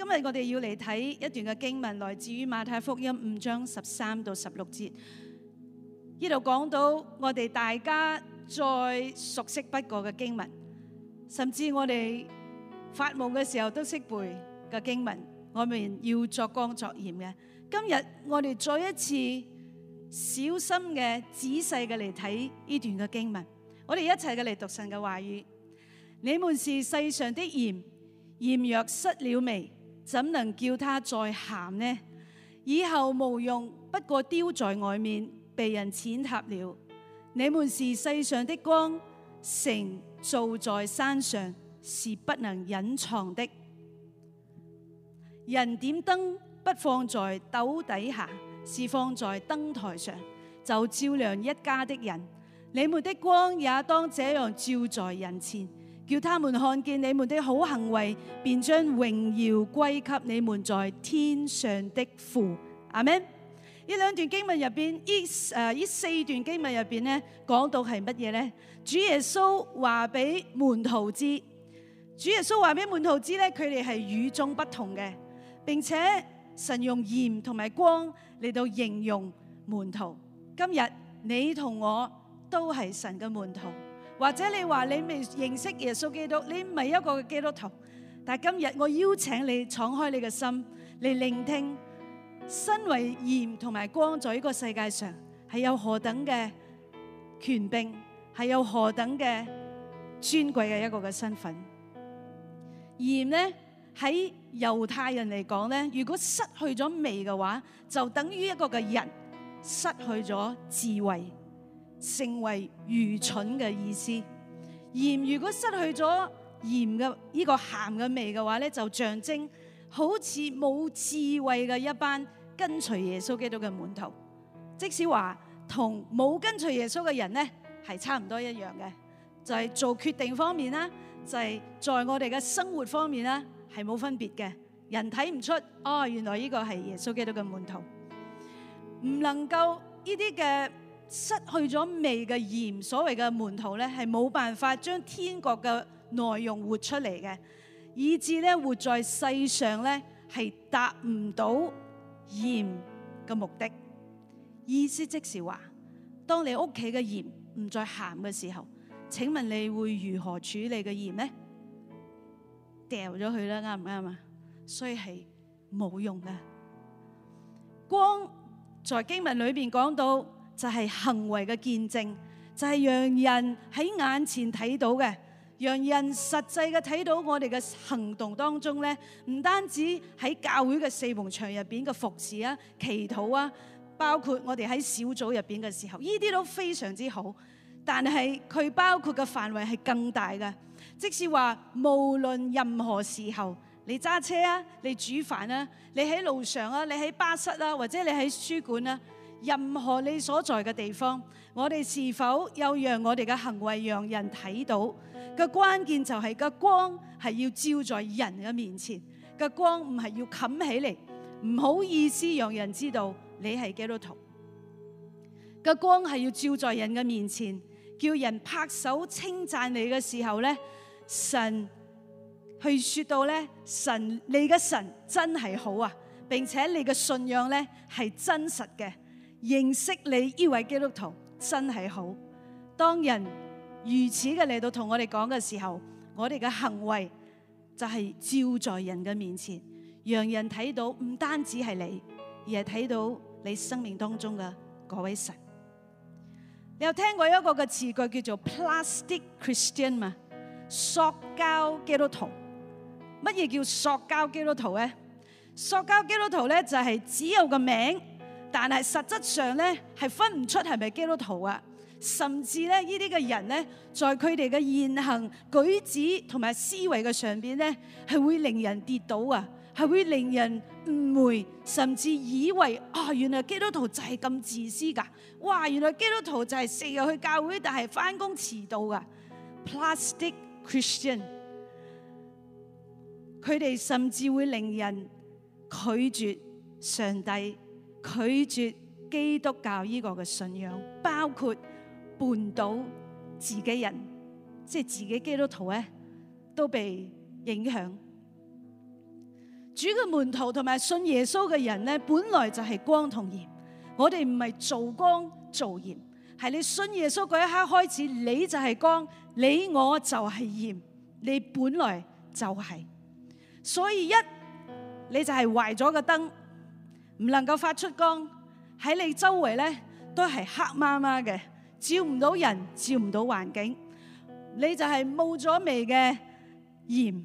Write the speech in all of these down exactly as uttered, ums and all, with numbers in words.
今日我哋要嚟睇一段嘅經文，來自於馬太福音五章十三到十六節。呢度講到我哋大家再熟悉不過嘅經文，甚至我哋發夢嘅時候都識背嘅經文，我們要作光作鹽嘅。今日我哋再一次小心嘅、仔細嘅嚟睇呢段嘅經文，我哋一齊嘅嚟讀神嘅話語。你們是世上的鹽，鹽若失了味，怎能叫它再鹹呢？以後無用，不過丟在外面，被人踐踏了。你們是世上的光，城造在山上，是不能隱藏的。人點燈不放在斗底下，是放在燈台上，就照亮一家的人。你們的光也當這樣照在人前，叫他們看見你們的好行為，便將榮耀歸給你們在天上的父。阿們。呢兩段經文入邊，呢誒呢四段經文入邊咧，講到係乜嘢咧？主耶穌話俾門徒知，主耶穌話俾門徒知咧，佢哋係與眾不同嘅，並且神用鹽同埋光嚟到形容門徒。今日你同我都係神嘅門徒，或者你話你未認識耶穌基督，你唔係一個基督徒，但係今日我邀請你敞開你嘅心嚟聆聽。身為鹽同埋光，在呢個世界上係有何等嘅權柄，係有何等嘅尊貴嘅一個嘅身份。鹽呢，喺猶太人嚟講呢，如果失去咗味嘅話，就等於一個嘅人失去咗智慧，成為愚蠢嘅意思。鹽如果失去咗鹽嘅呢個鹹嘅味嘅話呢，就象徵好似冇智慧嘅一班跟隨耶穌基督嘅門徒，即使話同冇跟隨耶穌嘅人呢係差唔多一樣嘅，就係做決定方面啦，就係在我哋嘅生活方面啦，係冇分別嘅。人睇唔出哦，原來呢個係耶穌基督嘅門徒，唔能夠呢啲嘅失去咗味嘅鹽，所謂嘅門徒呢，係冇辦法將天國嘅內容活出嚟嘅。以致咧活在世上咧係達唔到鹽嘅目的。意思即是話，當你屋企嘅鹽唔再鹹嘅時候，請問你會如何處理嘅鹽呢？掉咗佢啦，啱唔啱啊？所以係冇用嘅。光在經文裏邊講到就係行為嘅見證，就係讓人喺眼前睇到嘅。讓人實際嘅睇到我哋嘅行動當中咧，唔單止喺教會嘅四埲牆入邊嘅服侍啊、祈禱啊，包括我哋喺小組入邊嘅時候，呢啲都非常之好。但係佢包括嘅範圍係更大嘅，即是話無論任何時候，你揸車啊、你煮飯啊、你喺路上啊、你喺巴士啊，或者你喺書館啊，任何你所在嘅地方，我哋是否有讓我哋嘅行為讓人睇到？個關鍵就係個光係要照在人嘅面前，個光唔係要冚起嚟，唔好意思讓人知道你係基督徒。個光係要照在人嘅面前，叫人拍手稱讚你嘅時候咧，神去說到咧，神你嘅神真係好啊，並且你嘅信仰咧係真實嘅，認識你呢位基督徒真係好。當人如此嘅嚟到同我哋講嘅時候，我哋嘅行為就係照在人嘅面前，讓人睇到唔單止係你，而係睇到你生命當中嘅嗰位神。你有聽過一個嘅詞句叫做 plastic Christian 嘛？塑膠基督徒。乜嘢叫塑膠基督徒咧？塑膠基督徒咧就係只有個名，但係實質上咧係分唔出係咪基督徒啊！甚至咧，呢啲嘅人咧，在佢哋嘅言行舉止同埋思維嘅上邊咧，係會令人跌倒啊，係會令人誤會，甚至以為啊、哦，原來基督徒就係咁自私噶，哇，原來基督徒就係成日去教會，但係翻工遲到噶。Plastic Christian， 佢哋甚至會令人拒絕上帝，拒絕基督教呢個嘅信仰，包括絆倒自己人，即係自己基督徒咧，都被影響。 主嘅門徒同埋信耶穌嘅人咧，本來就係光同鹽。我哋唔係做光做鹽，係你信耶穌嗰一刻開始，你就係光，你我就係鹽，你本來就係。所以一你就係壞咗個燈，唔能夠發出光，喺你周圍咧都係黑麻麻嘅，照唔到人，照唔到環境，你就係冇咗味嘅鹽，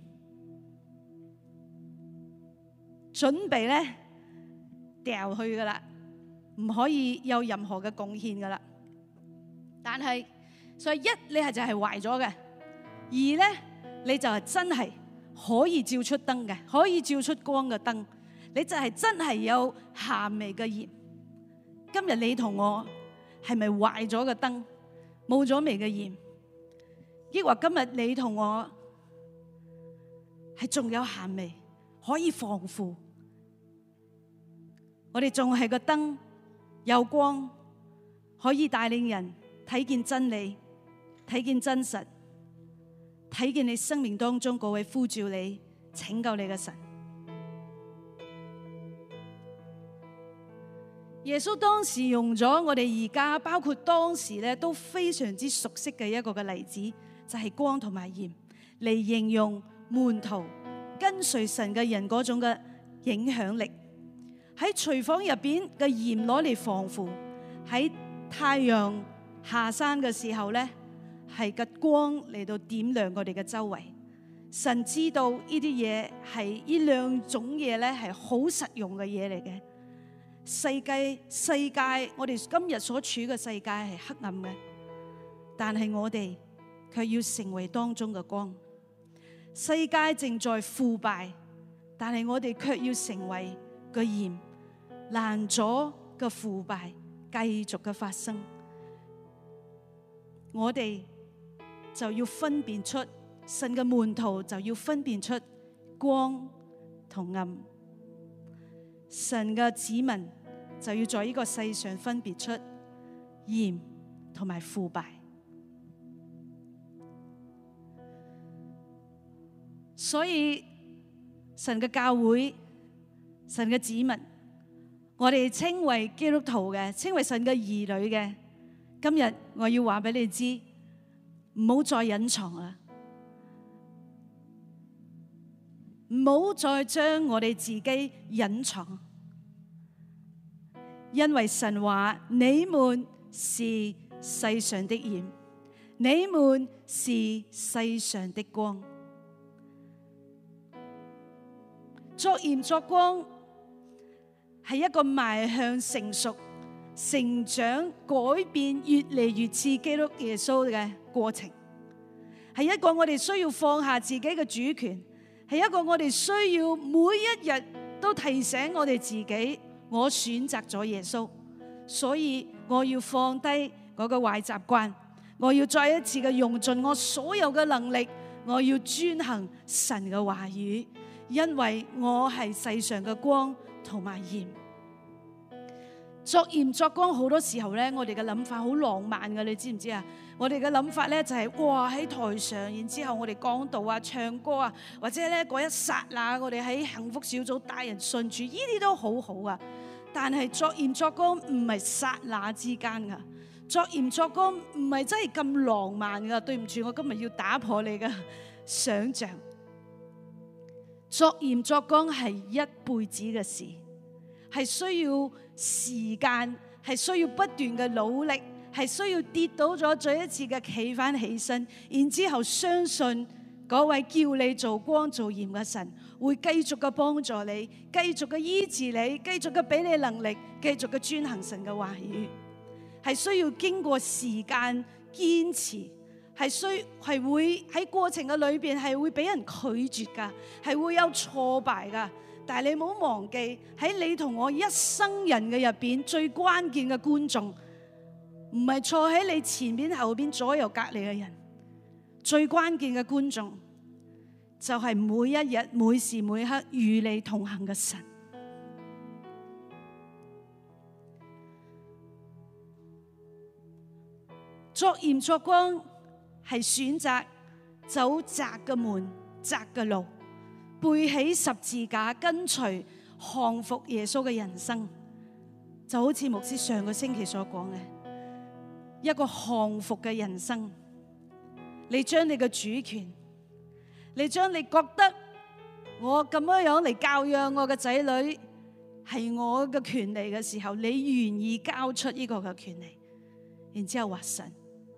準備咧掉去噶啦，唔可以有任何嘅貢獻噶啦。但係所以一你係就係壞咗嘅，二咧你就係真係可以照出燈嘅，可以照出光嘅燈，你就係真係有鹹味嘅鹽。今日你同我係咪壞咗個燈，冇咗味嘅鹽？抑或今日你同我係仲有鹹味，可以防腐？我哋仲係個燈，有光，可以帶領人睇見真理，睇見真實，睇見你生命當中嗰位呼召你、拯救你嘅神。耶穌當時用咗我哋而家，包括當時咧都非常之熟悉嘅一個嘅例子，就係光同埋鹽，嚟形容門徒跟隨神嘅人嗰種嘅影響力。喺廚房入邊嘅鹽攞嚟防腐，喺太陽下山嘅時候咧，係個光嚟到點亮我哋嘅周圍。神知道呢啲嘢係呢兩種嘢咧係好實用嘅嘢嚟嘅。世界世界我哋今日所處嘅世界係黑暗嘅，但係我哋卻要成為當中嘅光。世界正在腐敗，但係我哋卻要成為個鹽，攔阻嘅腐敗繼續嘅發生。我哋就要分辨出，神嘅門徒就要分辨出光同暗。神嘅子民就要在呢個世上分別出鹽同埋腐敗。所以神嘅教會、神嘅子民，我哋稱為基督徒嘅，稱為神嘅兒女嘅，今日我要話俾你知，唔好再隱藏啦，唔好再將我哋自己隱藏，因為神話你們是世上的鹽，你們是世上的光。作鹽作光係一個邁向成熟、成長、改變，越嚟越似基督耶穌嘅過程，係一個我哋需要放下自己嘅主權，係一個我哋需要每一日都提醒我哋自己，我選擇咗耶穌，所以我要放低我嘅壞習慣，我要再一次嘅用盡我所有嘅能力，我要遵行神嘅話語，因為我係世上嘅光同埋鹽。作鹽作光好多時候咧，我哋嘅諗法好浪漫嘅，你知唔知啊？我哋嘅諗法咧就係、是、哇喺台上，然之後我哋講道啊、唱歌啊，或者咧嗰一剎那，我哋喺幸福小組帶人信主，呢啲都好好啊。但係作鹽作光唔係剎那之間噶，作鹽作光唔係真係咁浪漫噶。對唔住，我今日要打破你嘅想象。作鹽作光係一輩子嘅事，係需要時間，係需要不斷嘅努力，係需要跌倒咗再一次嘅企翻起身，然之後相信嗰位叫你做光做鹽嘅神會繼續嘅幫助你，繼續嘅醫治你，繼續嘅俾你能力，繼續嘅遵行神嘅話語，係需要經過時間堅持，係需係會喺過程嘅裏邊係會俾人拒絕噶，係會有挫敗噶。但係你唔好忘記，喺你同我一生人嘅入邊，最關鍵嘅觀眾唔係坐喺你前邊、後邊、左右、隔籬嘅人，最關鍵嘅觀眾就係每一日、每時每刻與你同行嘅神。作鹽作光係選擇走窄嘅門、窄嘅路， 背起十字架跟隨降服耶穌嘅人生，就好似牧師上個星期所講嘅一個降服嘅人生。你將你嘅主權，你將你覺得我咁樣樣嚟教養我嘅仔女係我嘅權利嘅時候，你願意交出呢個嘅權利，然之後話神，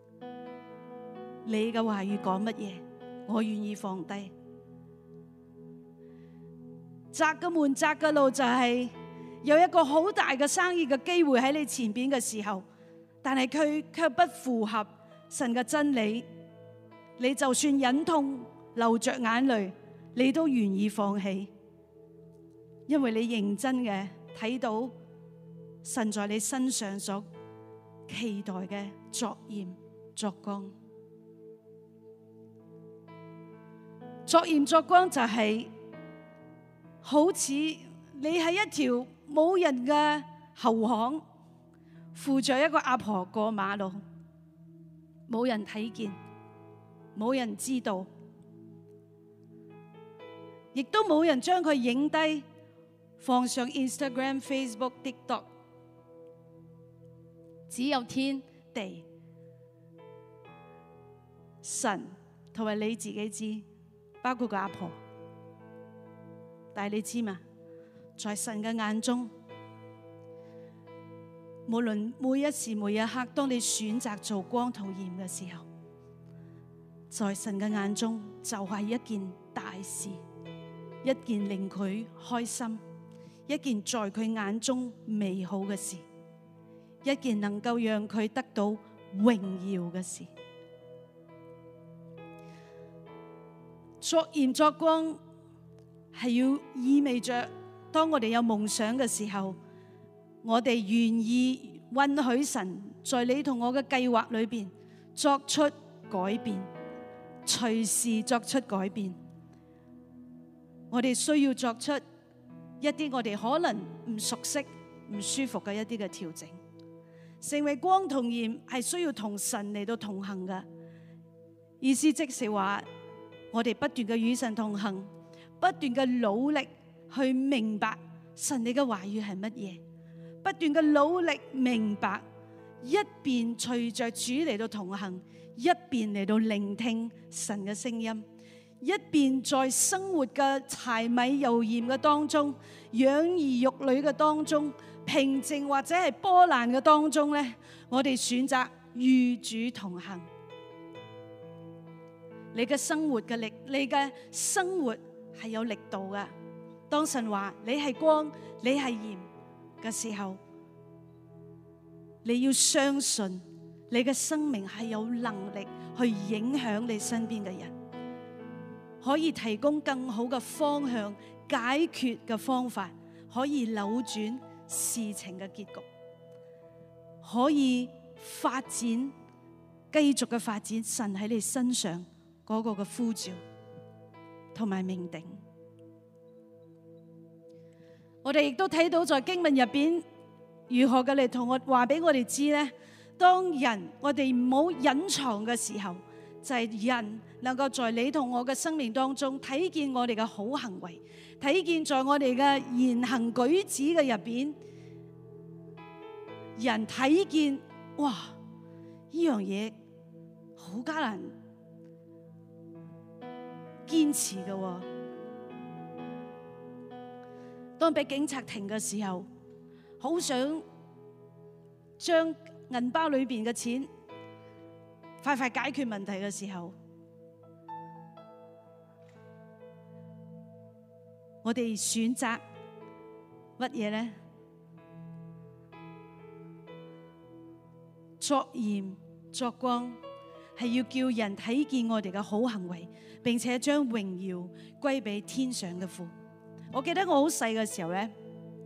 你嘅話語講乜嘢，我願意放低。窄嘅門，窄嘅路，就係有一個好大嘅生意嘅機會喺你前邊嘅時候，但係佢卻不符合神嘅真理，你就算忍痛流着眼淚，你都願意放棄，因為你認真嘅睇到神在你身上所期待嘅作鹽作光。作鹽作光就係好似你喺一條冇人嘅後巷，扶着一個阿婆過馬路，冇人睇見，冇人知道，亦都冇人將佢影低放上 Instagram、Facebook、TikTok， 只有天地神同埋你自己知，包括個阿婆。但係你知嘛？在神嘅眼中，無論每一時每一刻，當你選擇做光同鹽嘅時候，在神嘅眼中就係一件大事，一件令佢開心，一件在佢眼中美好嘅事，一件能夠讓佢得到榮耀嘅事。作鹽作光係要意味着，當我哋有夢想嘅時候，我哋願意允許神在你同我嘅計劃裏邊作出改變，隨時作出改變。我哋需要作出一啲我哋可能唔熟悉、唔舒服嘅一啲嘅調整。成為光同鹽係需要同神嚟到同行嘅意思，即是話我哋不斷嘅與神同行，不斷嘅努力去明白神你嘅話語係乜嘢，不斷嘅努力明白，一邊隨着主嚟到同行，一邊嚟到聆聽神嘅聲音，一邊在生活嘅柴米油鹽嘅當中，養兒育女嘅當中，平靜或者係波瀾嘅當中咧，我哋選擇與主同行。你嘅生活嘅力，你嘅生活係有力度嘅。當神話你係光，你係鹽嘅時候，你要相信你嘅生命係有能力去影響你身邊嘅人，可以提供更好嘅方向、解決嘅方法，可以扭轉事情嘅結局，可以發展，繼續嘅發展神喺你身上嗰個嘅呼召同埋命定。我哋亦都睇到在經文入邊如何嘅嚟同我話俾我哋知咧，當人我哋唔好隱藏嘅時候，就係人能夠在你同我嘅生命當中睇見我哋嘅好行為，睇見在我哋嘅言行舉止嘅入邊，人睇見哇呢樣嘢好艱難堅持嘅喎。當俾警察停嘅時候，好想將銀包裏邊嘅錢快快解決問題嘅時候，我哋選擇乜嘢呢？作鹽作光，係要叫人睇見我哋嘅好行為，並且將榮耀歸俾天上嘅父。我記得我好細嘅時候咧，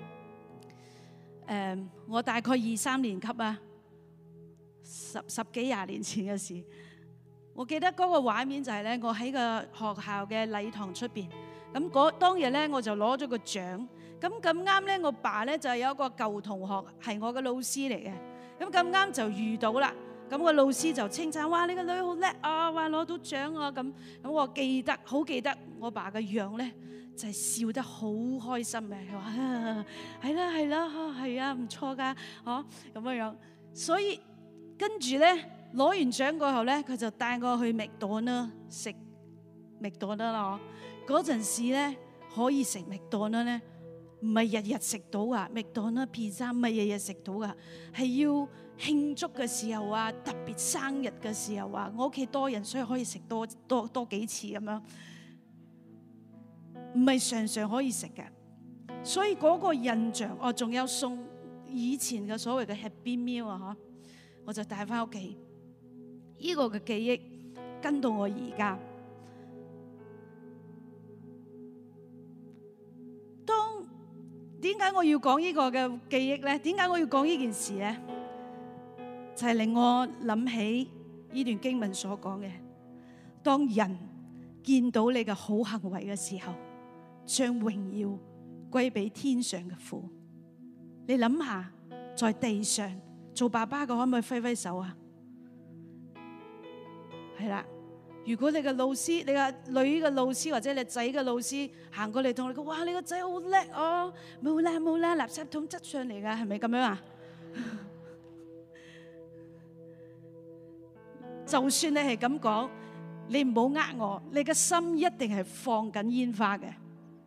誒，我大概二三年級啊，十十幾廿年前嘅事。我記得嗰個畫面就係咧，我喺個學校嘅禮堂出邊，咁嗰當日咧我就攞咗個獎。咁咁啱咧，我爸咧就係有一個舊同學係我嘅老師嚟嘅，咁咁啱就遇到啦。 咁個老師就稱讚：哇，你個女好叻啊！哇，攞到獎啊！咁咁我記得好記得我爸嘅樣咧，就係笑得好開心嘅。佢話：係啦係啦，係啊，唔錯㗎，嗬咁樣樣。所以跟住咧攞完獎過後咧，佢就帶我去麥當勞食麥當勞啦。嗰陣時咧可以食麥當勞咧，唔係日日食到噶，麥當勞披薩唔係日日食到噶，係要慶祝嘅時候啊，特別生日嘅時候啊，我屋企多人，所以可以食多多多幾次咁樣，唔係常常可以食嘅。所以嗰個印象，我仲有送以前嘅所謂嘅 Happy Meal 啊，嗬，我就帶翻屋企，呢個嘅記憶跟到我而家。當點解我要講呢個嘅記憶咧？點解我要講呢件事咧？就係令我諗起呢段經文所講嘅，當人見到你嘅好行為嘅時候，將榮耀歸俾天上嘅父。你諗下，在地上做爸爸嘅可唔可以揮揮手啊？係啦，如果你嘅老師、你嘅女嘅老師或者你仔嘅老師行過嚟同你講：哇，你個仔好叻哦！冇啦冇啦，垃圾桶執上嚟噶，係咪咁樣啊？就算你係咁講，你唔好呃我，你嘅心一定係放緊煙花嘅，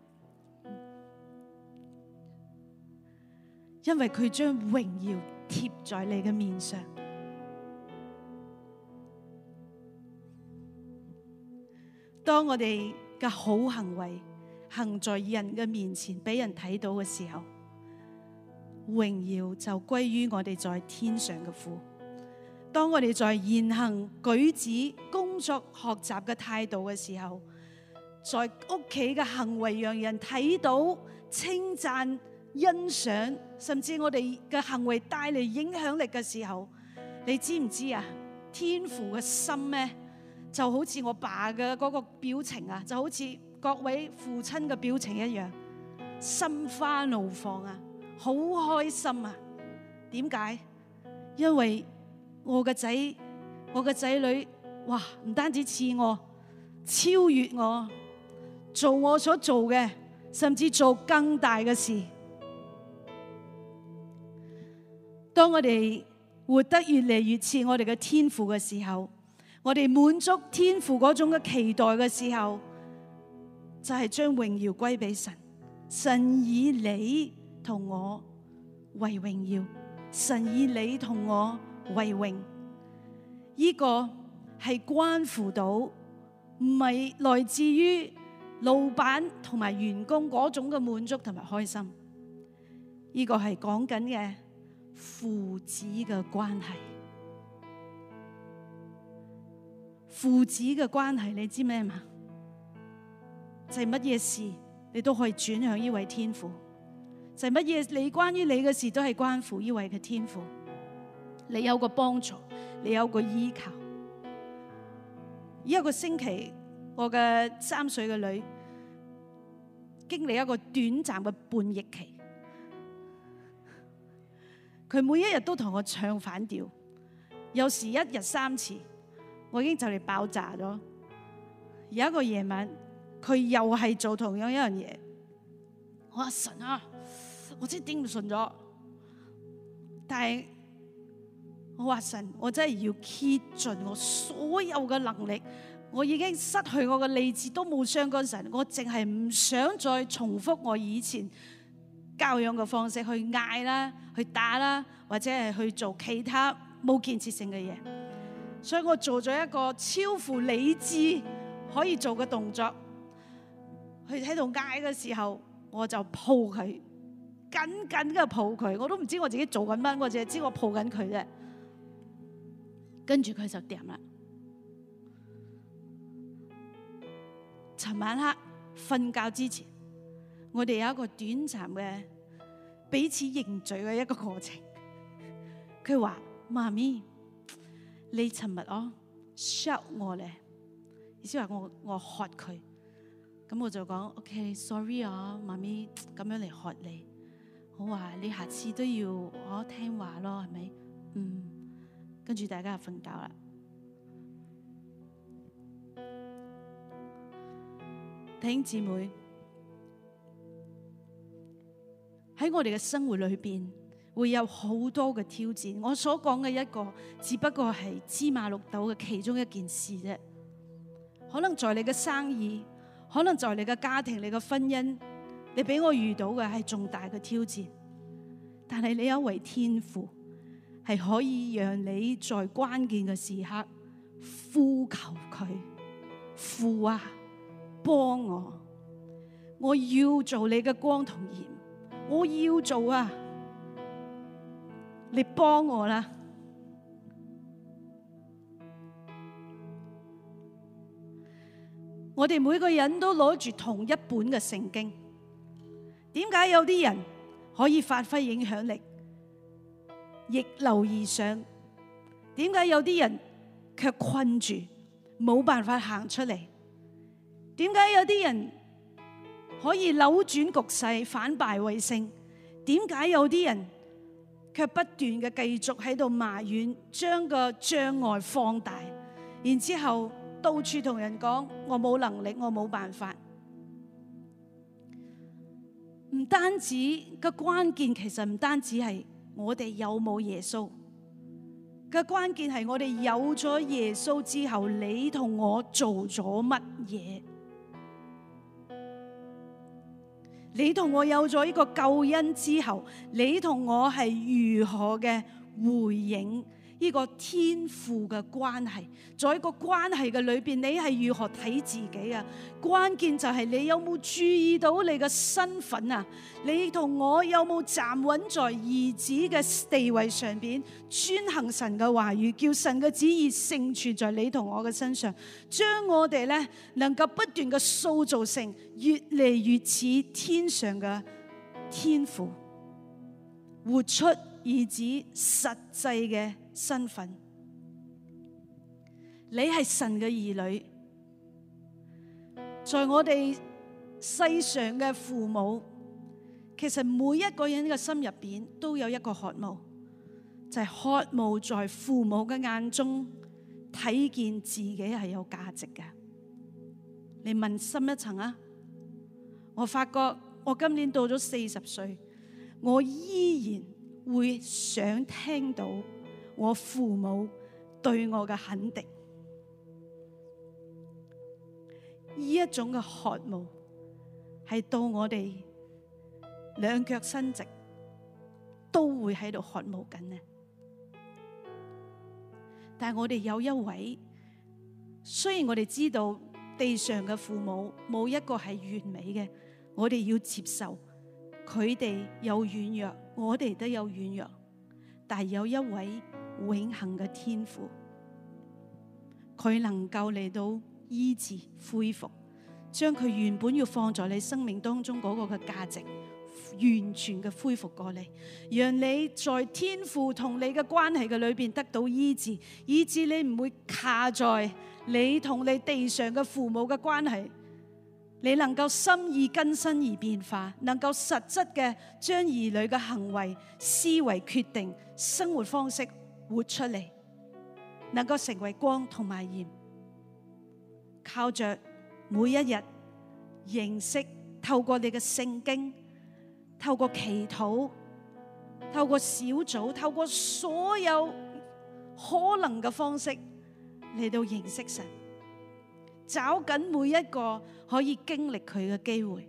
因為佢將榮耀貼在你嘅面上。當我哋嘅好行為行在人嘅面前，俾人睇到嘅時候，榮耀就歸於我哋在天上嘅父。當我哋在言行舉止、工作學習嘅態度嘅時候，在屋企嘅行為讓人睇到、稱讚、欣賞，甚至我哋嘅行為帶嚟影響力嘅時候，你知唔知啊？天父嘅心咧，就好似我爸嘅嗰個表情啊，就好似各位父親嘅表情一樣，心花怒放啊，好開心啊！點解？因為我個仔，我個仔女，哇！唔單止似我，超越我，做我所做嘅，甚至做更大嘅事。當我哋活得越嚟越似我哋嘅天父嘅時候，我哋滿足天父嗰種嘅期待嘅時候，就係將榮耀歸俾神。神以你同我為榮耀，神以你同我為榮，呢個係關乎到，唔係來自於老闆同埋員工嗰種嘅滿足同埋開心，呢個係講緊嘅父子嘅關係。父子嘅關係，你知咩嘛？就係乜嘢事你都可以轉向呢位天父，就係乜嘢你關於你嘅事都係關乎呢位嘅天父。你有個幫助，你有個依靠。呢一個星期，我嘅三歲嘅女經歷一個短暫嘅叛逆期，佢每一日都同我唱反調，有時一日三次，我已經就嚟爆炸咗。有一個夜晚，佢又係做同樣一樣嘢，我話神啊，我真係頂唔順咗，但係我話神，我真係要竭盡我所有嘅能力，我已經失去我嘅理智，都冇傷過神，我淨係唔想再重複我以前教養嘅方式去嗌啦、去打啦，或者係去做其他冇建設性嘅嘢。所以我做咗一個超乎理智可以做嘅動作，佢喺度嗌嘅時候，我就抱佢，緊緊嘅抱佢，我都唔知我自己做緊乜，我淨係知我抱緊佢啫。跟住佢就掂啦。尋晚黑瞓覺之前，我哋有一個短暫嘅彼此認罪嘅一個過程。佢話：媽咪，你尋日哦 shout 我咧，意思話我我喝佢。咁我就講 OK，sorry 啊，媽咪咁樣嚟喝你。我話你下次都要我聽話咯，係咪？嗯。 跟住大家就瞓覺啦。弟兄姊妹，喺我哋嘅生活裏邊會有好多嘅挑戰。我所講嘅一個只不過係芝麻綠豆嘅其中一件事啫。可能在你嘅生意，可能在你嘅家庭、你嘅婚姻，你俾我遇到嘅係重大嘅挑戰。但係你有一位天父係可以讓你在關鍵嘅時刻呼求佢，父啊，幫我，我要做你嘅光同鹽，我要做啊，你幫我啦。我哋每個人都攞住同一本嘅聖經，點解有啲人可以發揮影響力，逆流而上？點解有啲人卻困住，冇辦法行出嚟？點解有啲人可以扭轉局勢，反敗為勝？點解有啲人卻不斷嘅繼續喺度埋怨，將個障礙放大，然之後到處同人講我冇能力，我冇辦法？唔單止個關鍵，其實唔單止係我哋有冇耶穌，個關鍵係我哋有咗耶穌之後，你同我做咗乜嘢？你同我有咗呢個救恩之後，你同我係如何嘅回應呢個天父嘅關係？在一個關係嘅裏邊，你係如何睇自己啊？關鍵就係你有冇注意到你嘅身份啊？你同我有冇站穩在兒子嘅地位上邊，遵行神嘅話語，叫神嘅旨意成全在你同我嘅身上，將我哋咧能夠不斷嘅塑造成越嚟越似天上嘅天父，活出兒子實際嘅身份。你係神嘅兒女，在我哋世上嘅父母，其實每一個人嘅心入邊都有一個渴慕，就係渴慕在父母嘅眼中睇見自己係有價值嘅。你問深一層啊，我發覺我今年到咗四十歲，我依然會想聽到我父母對我嘅肯定。呢一種嘅渴慕係到我哋兩腳伸直都會喺度渴慕緊呢。但係我哋有一位，雖然我哋知道地上嘅父母冇一個係完美嘅，我哋要接受佢哋有軟弱，我哋都有軟弱，但係有一位永恆嘅天父，佢能夠嚟到醫治恢復，將佢原本要放在你生命當中嗰個嘅價值完全嘅恢復過嚟，讓你在天父同你嘅關係嘅裏邊得到醫治，以致你唔會卡在你同你地上嘅父母嘅關係，你能夠心意更新而變化，能夠實質嘅將兒女嘅行為、思維、決定、生活方式活出嚟，能夠成為光同埋鹽。靠着每一日認識，透過你嘅聖經，透過祈禱，透過小組，透過所有可能嘅方式嚟到認識神，找緊每一個可以經歷佢嘅機會。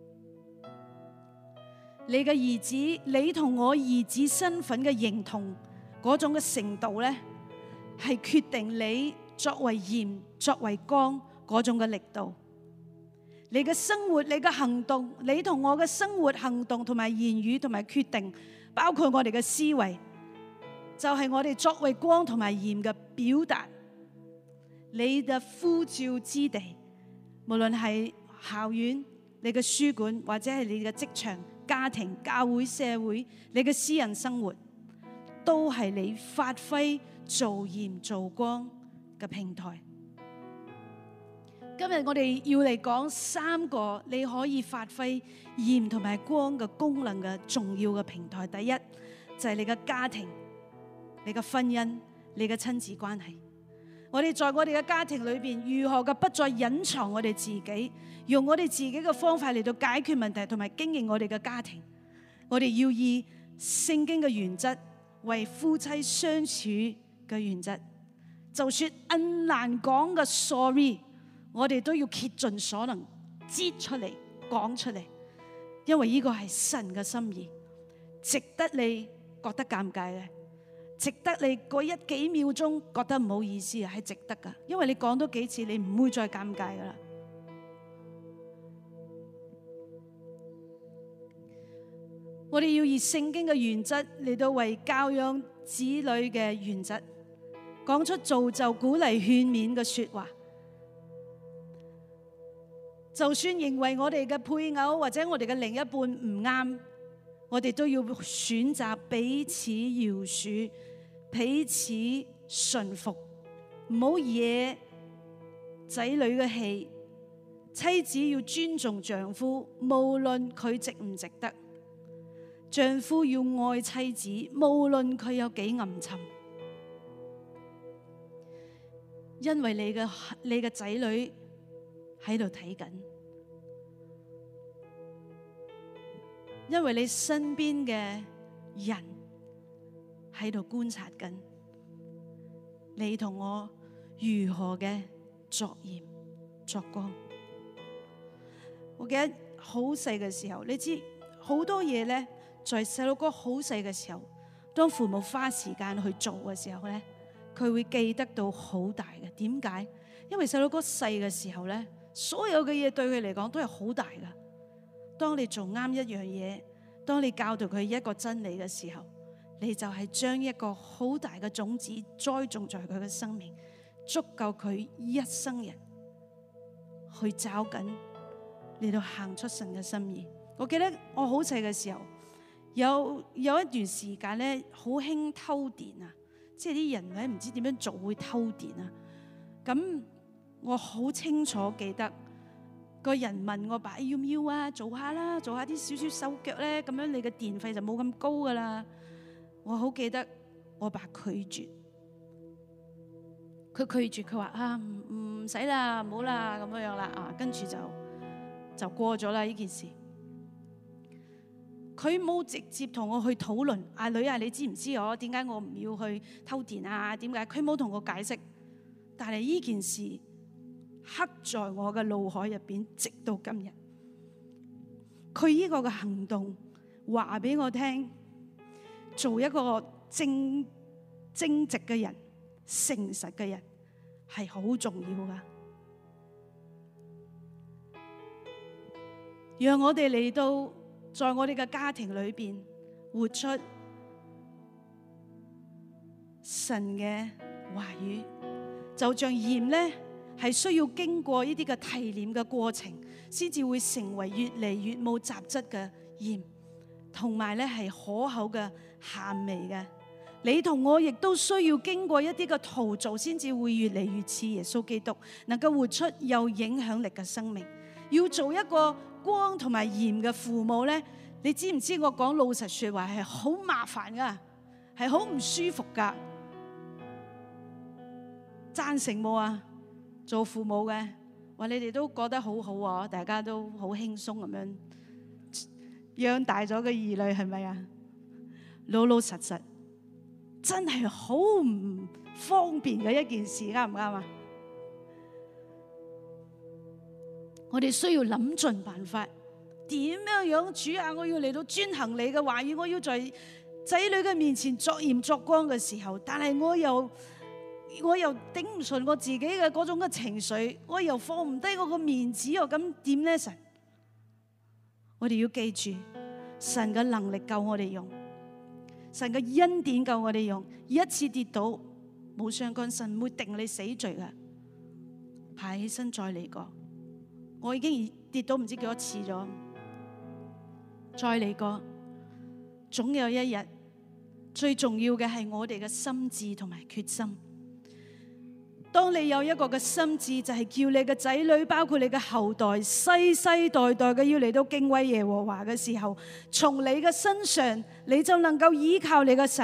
你嘅兒子，你同我兒子身份嘅認同嗰種嘅程度咧，係決定你作為鹽、作為光嗰種嘅力度。你嘅生活、你嘅行動、你同我嘅生活行動同埋言語同埋決定，包括我哋嘅思維，就係我哋作為光同埋鹽嘅表達。你嘅呼召之地，無論係校園、你嘅書館，或者係你嘅職場、家庭、教會、社會，你嘅私人生活，都係你發揮做鹽做光嘅平台。今日我哋要嚟講三個你可以發揮鹽同埋光嘅功能嘅重要嘅平台。第一就係你嘅家庭、你嘅婚姻、 你嘅親子關係。我哋在我哋嘅家庭裏邊，如何嘅不再隱藏我哋自己，用我哋自己嘅方法嚟到解決問題，同埋經營我哋嘅家庭。我哋要以聖經嘅原則為夫妻相處嘅原則。就算很難講嘅 sorry， 我哋都要竭盡所能擠出嚟講出嚟，因為呢個係神嘅心意，值得你覺得尷尬嘅。值得你嗰一幾秒鐘覺得唔好意思啊，係值得噶，因為你講多幾次，你唔會再尷尬噶啦。我哋要以聖經嘅原則嚟到為教養子女嘅原則，講出造就、鼓勵、勸勉嘅說話。就算認為我哋嘅配偶或者我哋嘅另一半唔啱，我哋都要選擇彼此饒恕，彼此順服，唔好惹仔女嘅氣。妻子要尊重丈夫，無論佢值唔值得；丈夫要愛妻子，無論佢有幾暗沉。因為你嘅你嘅仔女喺度睇緊，因為你身邊嘅人喺度觀察緊，你同我如何嘅作鹽作光。我記得好細嘅時候，你知好多嘢咧，在細路哥好細嘅時候，當父母花時間去做嘅時候咧，佢會記得到好大嘅。點解？因為細路哥細嘅時候咧，所有嘅嘢對佢嚟講都係好大噶。當你做啱一樣嘢，當你教導佢一個真理嘅時候，你就係將一個好大嘅種子栽種在佢嘅生命，足夠佢一生人去找緊嚟到行出神嘅心意。我記得我好細嘅時候，有有一段時間咧，好興偷電啊，即係啲人咧唔知點樣做會偷電啊。咁我好清楚記得，個人問我爸要唔要啊，做下啦，做下啲少少手腳咧，咁樣你嘅電費就冇咁高噶啦。我好記得我爸拒絕，佢拒絕，佢話啊唔唔使啦，唔好啦咁樣樣啦啊，跟住就就過咗啦呢件事。佢冇直接同我去討論，阿女啊，你知唔知我點解我唔要去偷電啊？點解？佢冇同我解釋，但係呢件事刻在我嘅腦海入邊，直到今日。佢呢個嘅行動話俾我聽，做一個正正直嘅人、誠實嘅人係好重要噶。讓我哋嚟到在我哋嘅家庭裏邊活出神嘅話語，就像鹽咧，係需要經過呢啲嘅提煉嘅過程，先至會成為越嚟越冇雜質嘅鹽，同埋咧係可口嘅鹹味嘅。你同我亦都需要經過一啲嘅陶造，先至會越嚟越似耶穌基督，能夠活出有影響力嘅生命。要做一個光同埋鹽嘅父母咧，你知唔知我講老實說話係好麻煩噶，係好唔舒服噶。贊成冇啊？做父母嘅話，你哋都覺得好好啊，大家都好輕鬆咁樣養大咗嘅兒女，係咪啊？老老實實真係好唔方便嘅一件事，啱唔啱啊？我哋需要諗盡辦法，點樣樣主啊！我要嚟到遵行你嘅話語，我要在仔女嘅面前作鹽作光嘅時候，但係我又我又頂唔順我自己嘅嗰種嘅情緒，我又放唔低我個面子，又咁點呢？神，我哋要記住，神嘅能力夠我哋用，神嘅恩典夠我哋用。一次跌倒冇相干，神唔會定你死罪嘅，爬起身再嚟過。我已經跌倒唔知幾多次咗，再嚟過，總有一日。最重要嘅係我哋嘅心志同埋決心。當你有一個嘅心志，就係叫你嘅仔女，包括你嘅後代，世世代代嘅要嚟到敬畏耶和華嘅時候，從你嘅身上，你就能夠依靠你嘅神，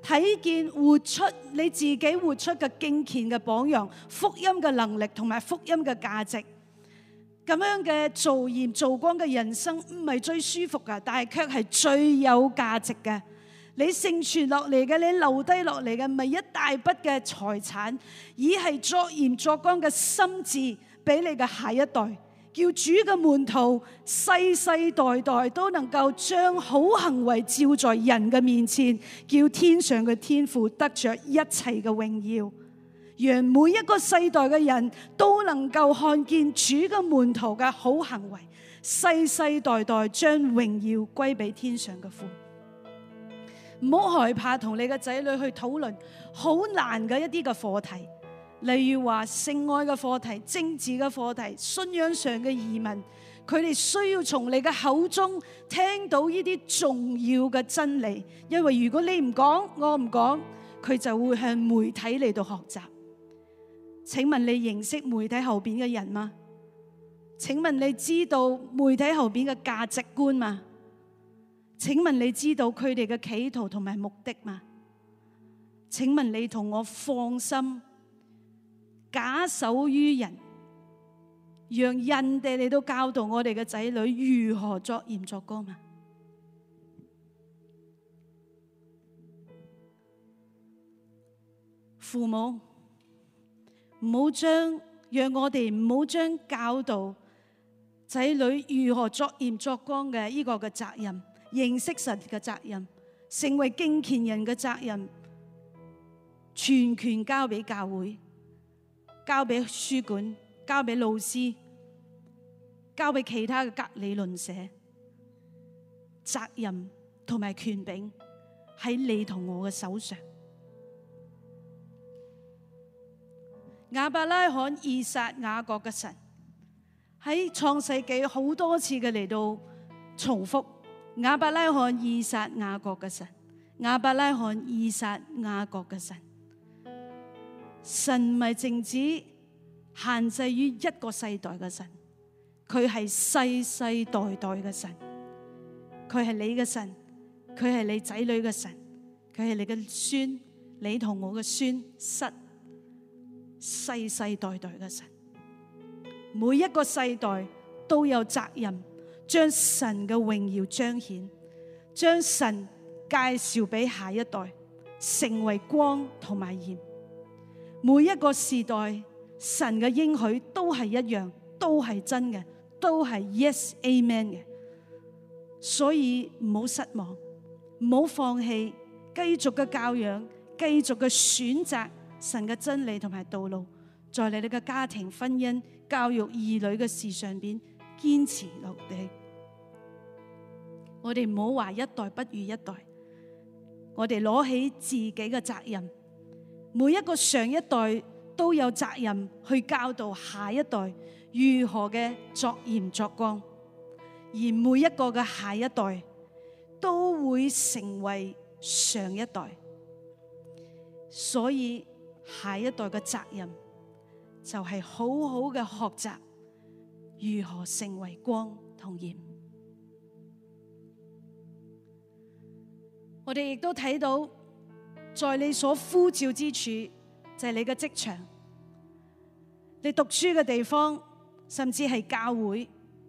睇見活出你自己活出嘅敬虔嘅榜樣，福音嘅能力同埋福音嘅價值。咁樣嘅做鹽做光嘅人生唔係最舒服噶，但係卻係最有價值嘅。你承傳落嚟嘅，你留低落嚟嘅，唔係一大筆嘅財產，而係作鹽作光嘅心志俾你嘅下一代。叫主嘅門徒世世代代都能夠將好行為照在人嘅面前，叫天上嘅天父得着一切嘅榮耀，讓每一個世代嘅人都能夠看見主嘅門徒嘅好行為，世世代代將榮耀歸俾天上嘅父。唔好害怕同你嘅仔女去討論好難嘅一啲嘅課題。例如話性愛嘅課題、政治嘅課題、信仰上嘅疑問，佢哋需要從你嘅口中聽到呢啲重要嘅真理。因為如果你唔講，我唔講，佢就會向媒體嚟到學習。請問你認識媒體後邊嘅人嗎？請問你知道媒體後邊嘅價值觀嗎？請問你知道佢哋嘅企圖同埋目的嗎？請問你同我放心假手於人，讓人哋嚟到教導我哋嘅仔女如何作鹽作光嘛？父母唔好將，讓我哋唔好將教導仔女如何作鹽作光嘅呢個嘅責任，認識神嘅責任，成為敬虔人嘅責任，全權交俾教會，交俾書館，交俾老師，交俾其他嘅隔離鄰舍。責任同埋權柄喺你同我嘅手上。亞伯拉罕、以撒、雅各嘅神喺創世紀好多次嘅嚟到重複。亞伯拉罕、以撒、雅各嘅神，亞伯拉罕、以撒、雅各嘅神。神唔係淨止限制於一個世代嘅神，佢係世世代代嘅神，佢係你嘅神，佢係你仔女嘅神，佢係你嘅孫，你同我嘅孫室，世世代代嘅神。每一個世代都有責任將神嘅榮耀彰顯，將神介紹俾下一代，成為光同埋鹽。每一個時代，神嘅應許都係一樣，都係真嘅，都係 yes amen 嘅。所以唔好失望，唔好放棄，繼續嘅教養，繼續嘅選擇神嘅真理同埋道路，在你哋嘅家庭、婚姻、教育兒女嘅事上邊堅持落地。我哋唔好話一代不如一代，我哋攞起自己嘅責任。每一個上一代都有責任去教導下一代如何嘅作鹽作光，而每一個嘅下一代都會成為上一代，所以下一代嘅責任就係好好嘅學習如何成為光同鹽。我哋亦都睇到，在你所呼召之處，就係你嘅職場，你讀書嘅地方，甚至係教會。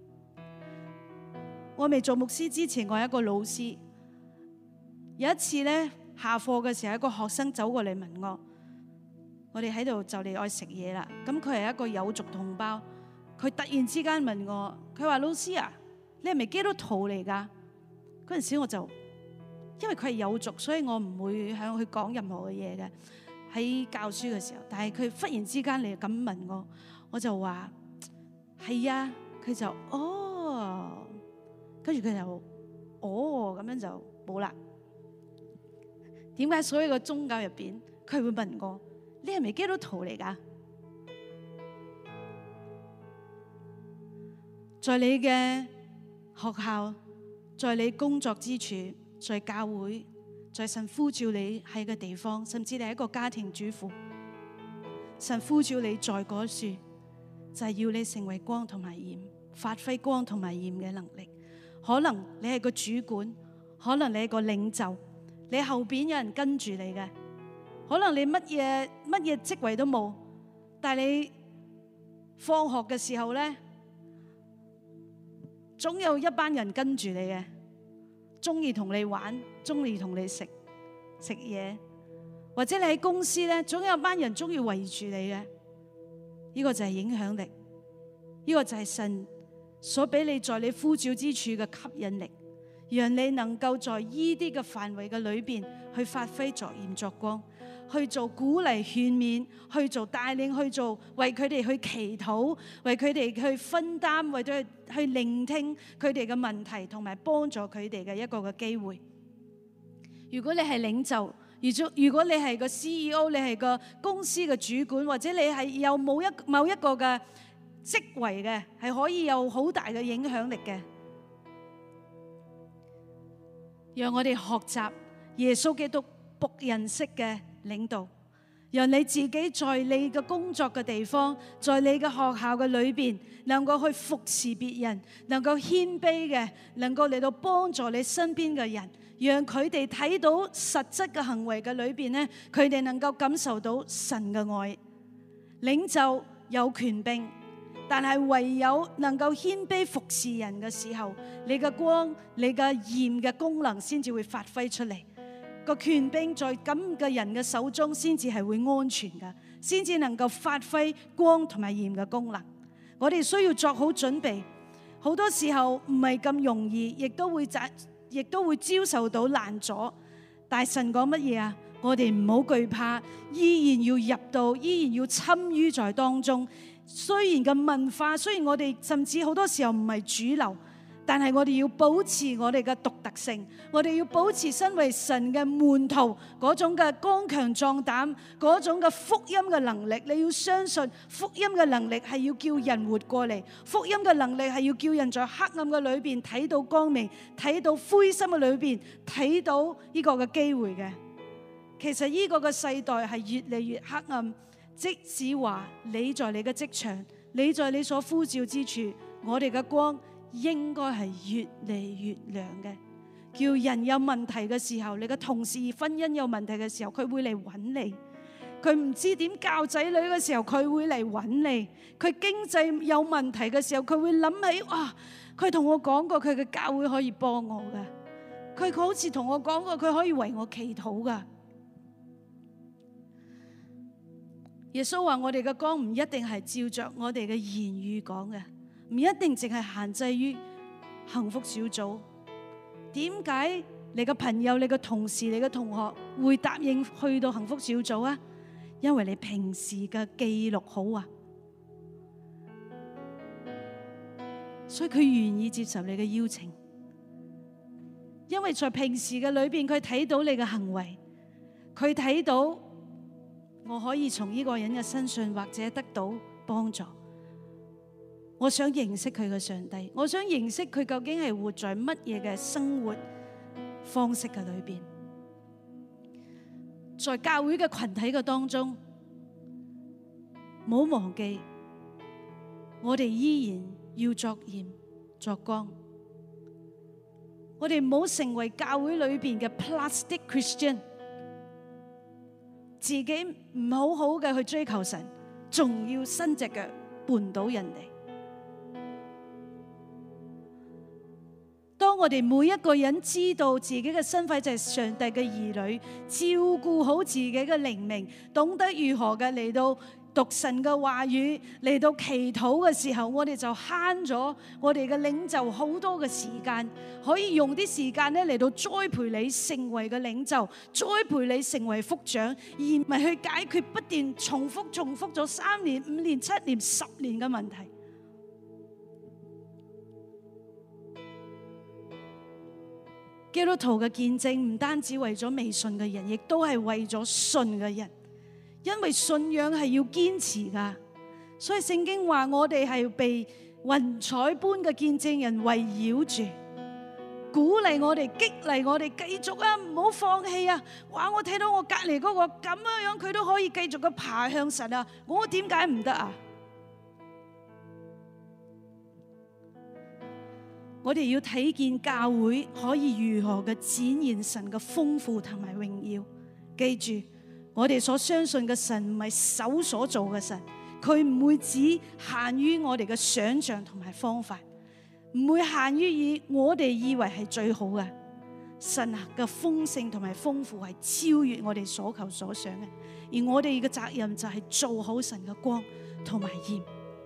我未做牧師之前，我係一個老師。有一次咧，下課嘅時候，一個學生走過嚟問我，我哋喺度就嚟愛食嘢啦。咁佢係一個有族同胞，佢突然之間問我，佢話：老師啊，你係咪基督徒嚟㗎？嗰陣時我就，因為佢係有族，所以我唔會向佢講任何嘅嘢嘅，喺教書嘅時候。但係佢忽然之間嚟咁問我，我就話係啊。佢就哦，跟住佢就哦，咁樣就冇啦。點解所有嘅宗教入邊，佢會問我你係咪基督徒嚟㗎？在你嘅學校，在你工作之處，在教會，在神呼召你喺個地方，甚至你係一個家庭主婦，神呼召你在嗰處，就係要你成為光同埋鹽，發揮光同埋鹽嘅能力。可能你係個主管，可能你係個領袖， 你後邊有人跟住你嘅，可能你乜嘢乜嘢職位都冇，但係你放學嘅時候咧，總有一班人跟住你嘅，中意同你玩，中意同你食食嘢，或者你喺公司咧，總有一班人中意圍住你嘅。呢個就係影響力，呢個就係神所俾你在你呼召之處嘅吸引力，讓你能夠在呢啲嘅範圍嘅裏邊去發揮作鹽作光，去做鼓勵勸勉，去做帶領，去做為佢哋去祈禱，為佢哋去分擔，為咗去去聆聽佢哋嘅問題，同埋幫助佢哋嘅一個嘅機會。如果你係領袖，如果你係個 C E O， 你係個公司嘅主管，或者你係有冇一某一個嘅職位嘅，係可以有好大嘅影響力嘅。讓我哋學習耶穌基督僕人式嘅領導，讓你自己在你嘅工作嘅地方，在你嘅學校嘅裏邊，能夠去服侍別人，能夠謙卑嘅，能夠嚟到幫助你身邊嘅人。讓佢哋睇到實質嘅行為嘅裏邊咧，佢哋能夠感受到神嘅愛。領袖有權柄，但係唯有能夠謙卑服侍人嘅時候，你嘅光、你嘅鹽嘅功能先至會發揮出嚟。個權柄在咁嘅人嘅手中，先至係會安全嘅，先至能夠發揮光同埋鹽嘅功能。我哋需要作好準備，好多時候唔係咁容易，亦都會亦都會遭受到難阻，但神講乜嘢啊？我哋唔好懼怕，依然要入到，依然要參與在當中。雖然嘅文化，雖然我哋甚至好多時候唔係主流，但係我哋要保持我哋嘅獨特性，我哋要保持身為神嘅門徒嗰種嘅剛強壯膽，嗰種嘅福音嘅能力。你要相信福音嘅能力係要叫人活過嚟，福音嘅能力係要叫人在黑暗嘅裏邊睇到光明，睇到灰心嘅裏邊睇到呢個嘅機會嘅。其實呢個嘅世代係越嚟越黑暗，即使話你在你嘅職場，你在你所呼召之處，我哋嘅光應該係越嚟越亮嘅。叫人有問題嘅時候，你嘅同事婚姻有問題嘅時候，佢會嚟揾你；佢唔知點教仔女嘅時候，佢會嚟揾你；佢經濟有問題嘅時候，佢會諗起哇，佢同我講過佢嘅教會可以幫我㗎，佢好似同我講過佢可以為我祈禱㗎。耶穌話我哋嘅光唔一定係照着我哋嘅言語講嘅，唔一定淨係限制於幸福小組。點解你嘅朋友、你嘅同事、你嘅同學會答應去到幸福小組啊？因為你平時嘅記錄好啊，所以佢願意接受你嘅邀請。因為在平時嘅裏邊，佢睇到你嘅行為，佢睇到我可以從呢個人嘅身上或者得到幫助。我想認識佢嘅上帝，我想認識佢究竟係活在乜嘢嘅生活方式嘅裏邊。在教會嘅群體嘅當中，唔好忘記，我哋依然要作鹽作光。我哋唔好成為教會裏邊嘅 plastic Christian， 自己唔好好嘅去追求神，仲要伸隻腳絆倒人哋。當我哋每一個人知道自己嘅身份就係上帝嘅兒女，照顧好自己嘅靈命，懂得如何嘅嚟到讀神嘅話語，嚟到祈禱嘅時候，我哋就慳咗我哋嘅領袖好多嘅時間，可以用啲時間咧嚟到栽培你成為嘅領袖，栽培你成為福長，而唔係去解決不斷重複重複咗三年、五年、七年、十年嘅問題。基督徒嘅見證唔單止為咗未信嘅人，亦都係為咗信嘅人，因為信仰係要堅持噶。所以聖經話我哋係被雲彩般嘅見證人圍繞住，鼓勵我哋，激勵我哋繼續啊，唔好放棄啊！哇，我睇到我隔籬嗰個咁樣樣，佢都可以繼續嘅爬向神啊，我點解唔得啊？ 我哋要睇見教會可以如何嘅展現神嘅豐富同埋榮耀。記住，我哋所相信嘅神唔係手所做嘅神，佢唔會只限於我哋嘅想象同埋方法，唔會限於以我哋以為係最好嘅。神嘅豐盛同埋豐富係超越我哋所求所想嘅，而我哋嘅責任就係做好神嘅光同埋鹽。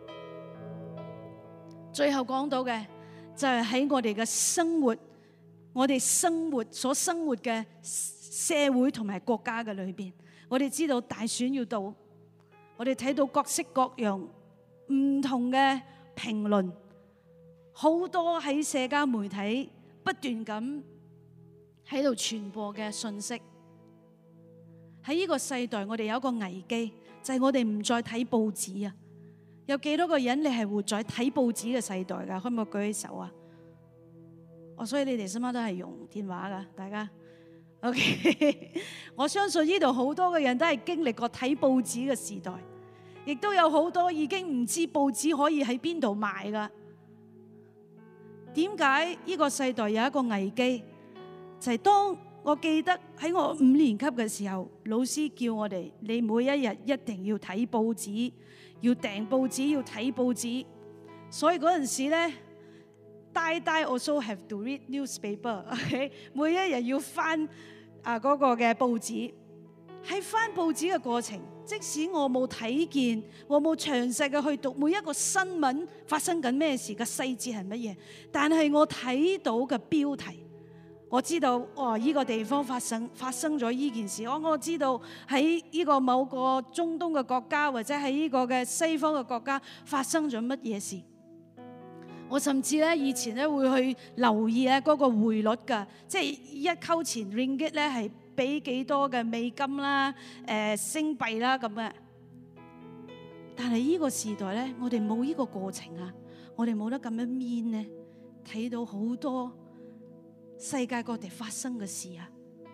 最後講到嘅就係喺我哋嘅生活，我哋生活所生活嘅社會同埋國家嘅裏邊，我哋知道大選要到，我哋睇到各式各樣唔同嘅評論，好多喺社交媒體不斷咁喺度傳播嘅信息。喺呢個世代，我哋有一個危機，就係我哋唔再睇報紙啊！有幾多個人你係活在睇報紙嘅世代噶？可唔可以舉起手啊？哦，所以你哋今晚都係用電話噶，大家 OK。我相信呢度好多嘅人都係經歷過睇報紙嘅時代，亦都有好多已經唔知報紙可以喺邊度買噶。點解呢個世代有一個危機？就係當我記得喺我五年級嘅時候，老師叫我哋，你每一日一定要睇報紙，要訂報紙，要睇報紙。所以嗰陣時咧，大大 also have to read newspaper。OK， 每一日要翻啊嗰個嘅報紙。喺翻報紙嘅過程，即使我冇睇見，我冇詳細嘅去讀每一個新聞發生緊咩事嘅細節係乜嘢，但係我睇到嘅標題，我知道哦，呢個地方發生發生咗呢件事。我我知道喺呢個某個中東嘅國家，或者喺呢個嘅西方嘅國家發生咗乜嘢事。我甚至咧以前咧會去留意咧嗰個匯率㗎，即係一溝錢 ringgit 咧係俾幾多嘅美金啦、誒星幣啦咁嘅。但係呢個時代咧，我哋冇呢個過程啊，我哋冇得咁樣面咧睇到好多世界各地發生嘅事啊！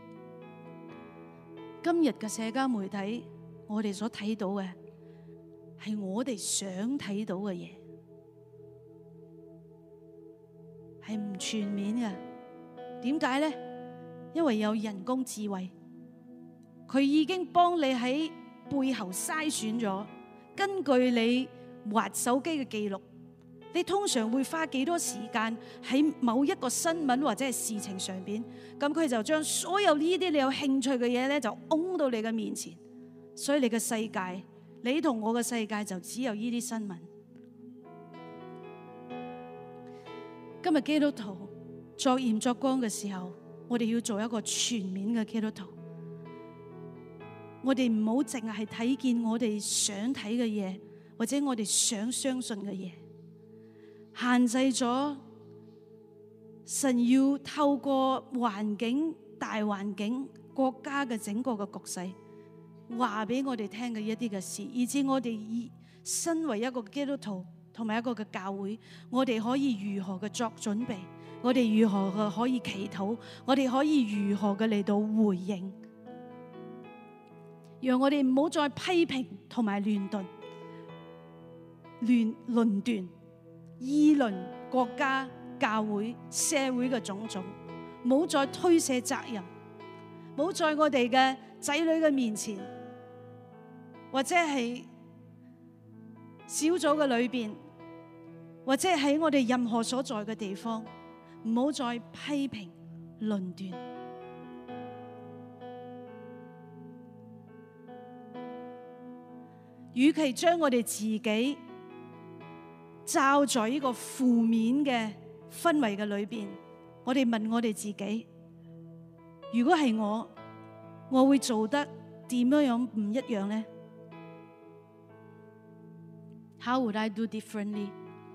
今日嘅社交媒體，我哋所睇到嘅係我哋想睇到嘅嘢，係唔全面嘅。點解呢？因為有人工智慧，佢已經幫你喺背後篩選咗，根據你滑手機嘅記錄，你通常會花幾多時間喺某一個新聞或者係事情上邊？咁佢就將所有呢啲你有興趣嘅嘢咧，就擁到你嘅面前。所以你嘅世界，你同我嘅世界就只有呢啲新聞。今日基督徒作鹽作光嘅時候，我哋要做一個全面嘅基督徒。我哋唔好淨係睇見我哋想睇嘅嘢，或者我哋想相信嘅嘢。限制咗神要透過環境、大環境、國家嘅整個嘅局勢，話俾我哋聽嘅一啲嘅事，以至我哋以身為一個基督徒同埋一個嘅教會，我哋可以如何嘅作準備，我哋如何嘅可以祈禱，我哋可以如何嘅嚟到回應，讓我哋唔好再批評同埋亂斷、亂論斷。議論國家、教會、社會嘅種種，冇再推卸責任，冇在我哋嘅仔女嘅面前，或者係小組嘅裏邊，或者喺我哋任何所在嘅地方，唔好再批評、論斷。與其將我哋自己罩在呢個負面嘅氛圍嘅裏邊，我哋問我哋自己：如果係我，我會做得點樣樣唔一樣呢？ How would I do differently？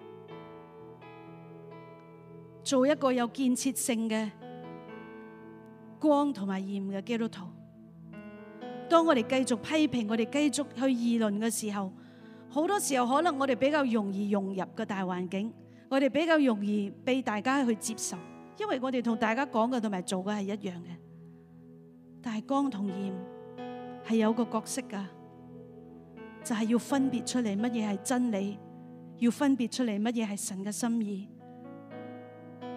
做一個有建設性嘅光同埋鹽嘅基督徒。當我哋繼續批評，我哋繼續去議論嘅時候，好多時候可能我哋比較容易融入個大環境，我哋比較容易被大家去接受，因為我哋同大家講嘅同埋做嘅係一樣嘅。但係光同鹽係有個角色噶，就係要分別出嚟乜嘢係真理，要分別出嚟乜嘢係神嘅心意。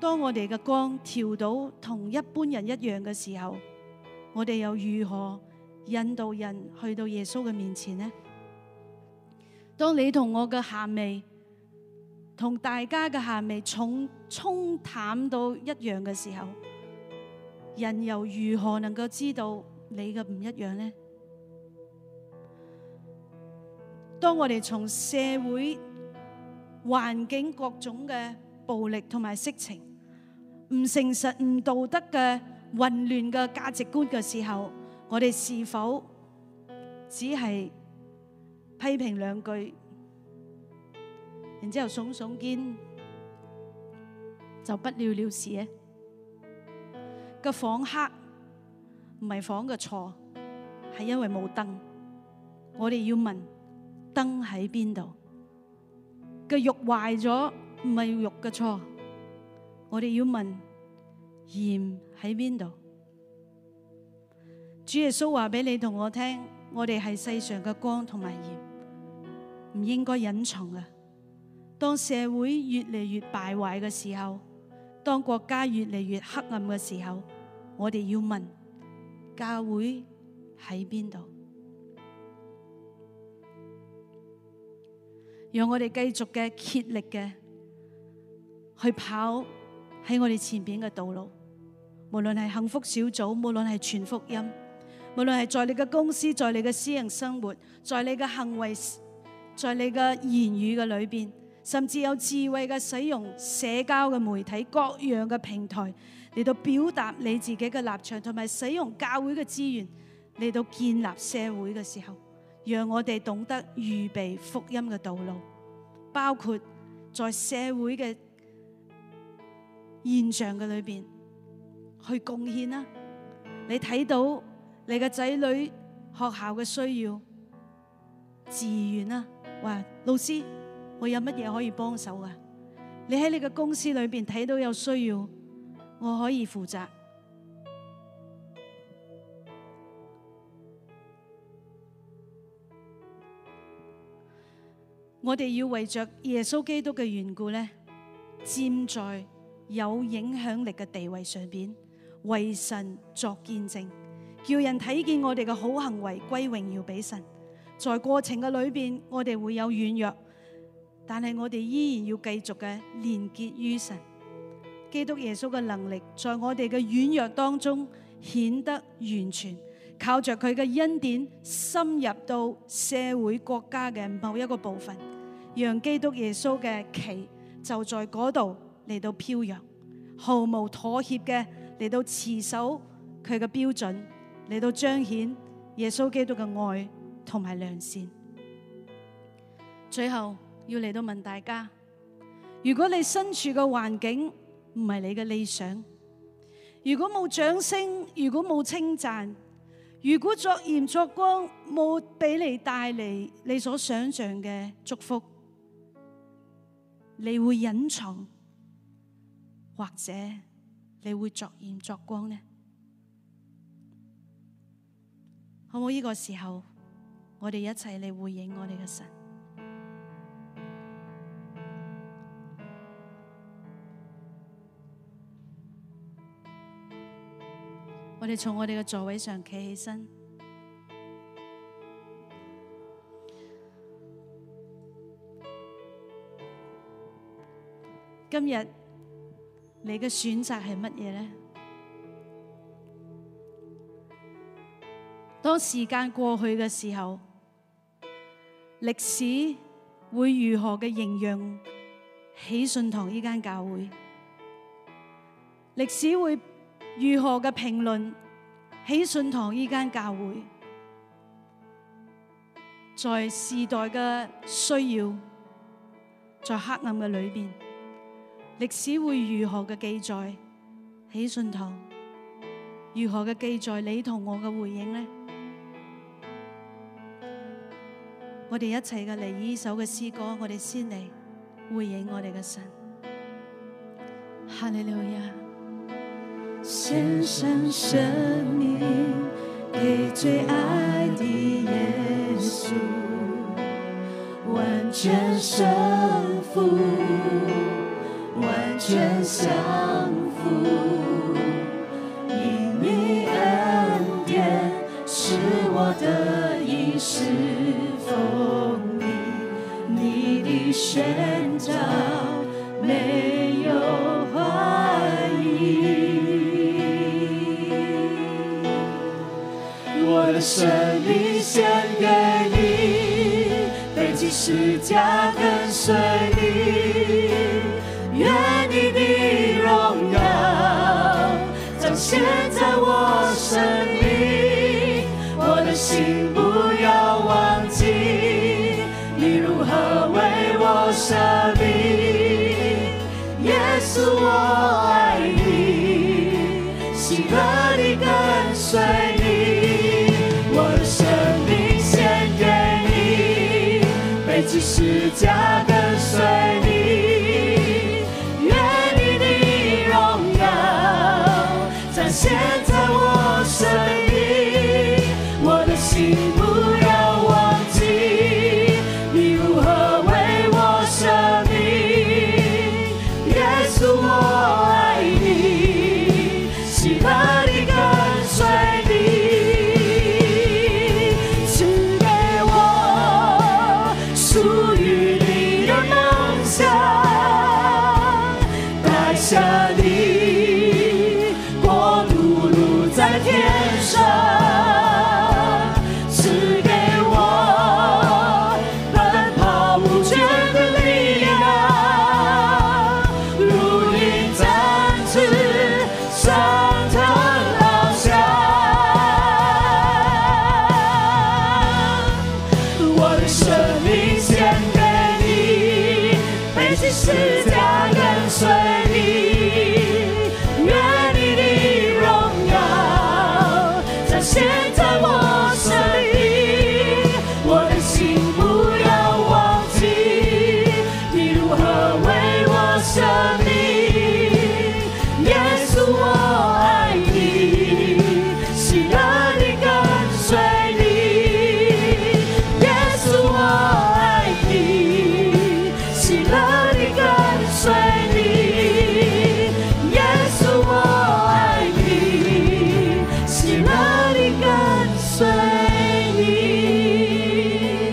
當我哋嘅光調到同一般人一樣嘅時候，我哋又如何引導人去到耶穌嘅面前呢？當你同我嘅鹹味同大家嘅鹹味重沖淡到一樣嘅時候，人又如何能夠知道你嘅唔一樣呢？當我哋從社會環境各種嘅暴力同埋色情、唔誠實、唔道德嘅混亂嘅價值觀嘅時候，我哋是否只係批評兩句，然之後聳聳肩就不了了事呢？個房黑唔係房嘅錯，係因為冇燈。我哋要問燈喺邊度？個肉壞咗唔係肉嘅錯，我哋要問鹽喺邊度？主耶穌話俾你同我聽，我哋係世上嘅光同埋鹽，唔應該隱藏嘅。當社會越嚟越敗壞嘅時候，當國家越嚟越黑暗嘅時候，我哋要問教會喺邊度？讓我哋繼續嘅竭力嘅去跑喺我哋前邊嘅道路，無論係幸福小組，無論係傳福音，無論係在你嘅公司，在你嘅私人生活，在你嘅行為，在你嘅言語嘅裏邊，甚至有智慧嘅使用社交嘅媒體，各樣嘅平台嚟到表達你自己嘅立場，同埋使用教會嘅資源嚟到建立社會嘅時候，讓我哋懂得預備福音嘅道路，包括在社會嘅現象嘅裏邊去貢獻啦。你睇到你嘅仔女學校嘅需要，自願啦，話老師我有乜嘢可以幫手噶？你喺你嘅公司裏邊睇到有需要，我可以負責。我哋要為着耶穌基督嘅緣故咧，站在有影響力嘅地位上邊，為神作見證，叫人睇見我哋嘅好行為，歸榮耀俾神。在過程嘅裏邊，我哋會有軟弱，但係我哋依然要繼續嘅連結於神。基督耶穌嘅能力在我哋嘅軟弱當中顯得完全，靠着佢嘅恩典深入到社會國家嘅某一個部分，讓基督耶穌嘅旗就在嗰度嚟到飄揚，毫無妥協嘅嚟到持守佢嘅標準，嚟到彰顯耶穌基督嘅愛同埋良善。最後要嚟到問大家，如果你身處嘅環境唔係你嘅理想，如果冇掌聲，如果冇稱讚，如果作鹽作光冇俾你帶嚟你所想象嘅祝福，你會隱藏，或者你會作鹽作光呢？好冇？呢個時候，我哋一齊嚟回應我哋嘅神。我哋從我哋嘅座位上企起身。今日你嘅選擇係乜嘢呢？當時間過去嘅時候，歷史會如何嘅形容喜信堂呢間教會？歷史會如何嘅評論喜信堂呢間教會？在時代嘅需要，在黑暗嘅裏邊，歷史會如何嘅記載喜信堂？如何嘅記載你同我嘅回應呢？我哋一齊嘅嚟呢首嘅詩歌，我哋先嚟回應我哋嘅神。哈利路亞！獻上生命給最愛的耶穌，完全順服，完全降服，因你恩典是我的衣食丰盈，你的宣召没有怀疑，我的生命献给你，背起十架跟随你，愿你的荣耀彰显在我生命，我的心不要忘记你如何为我舍命，耶稣我爱你，喜乐地跟随你，我的生命献给你，背起十架跟随你，愿你的荣耀彰显在我生命，我的心不要忘记你如何为我舍命，耶稣我爱你，喜乐地跟随你，赐给我属于你的梦想，带下你国度路在天上，赐给我奔跑无倦的力量，如鹰展翅上腾翱翔，我的生命献给你，背起十架跟随你，愿你的荣耀彰显在我生命，我的心不要忘记你如何为我舍命，耶稣我爱你，喜乐地跟随你，耶稣我爱你，喜乐地跟随你，耶稣我爱你，喜乐地跟随你。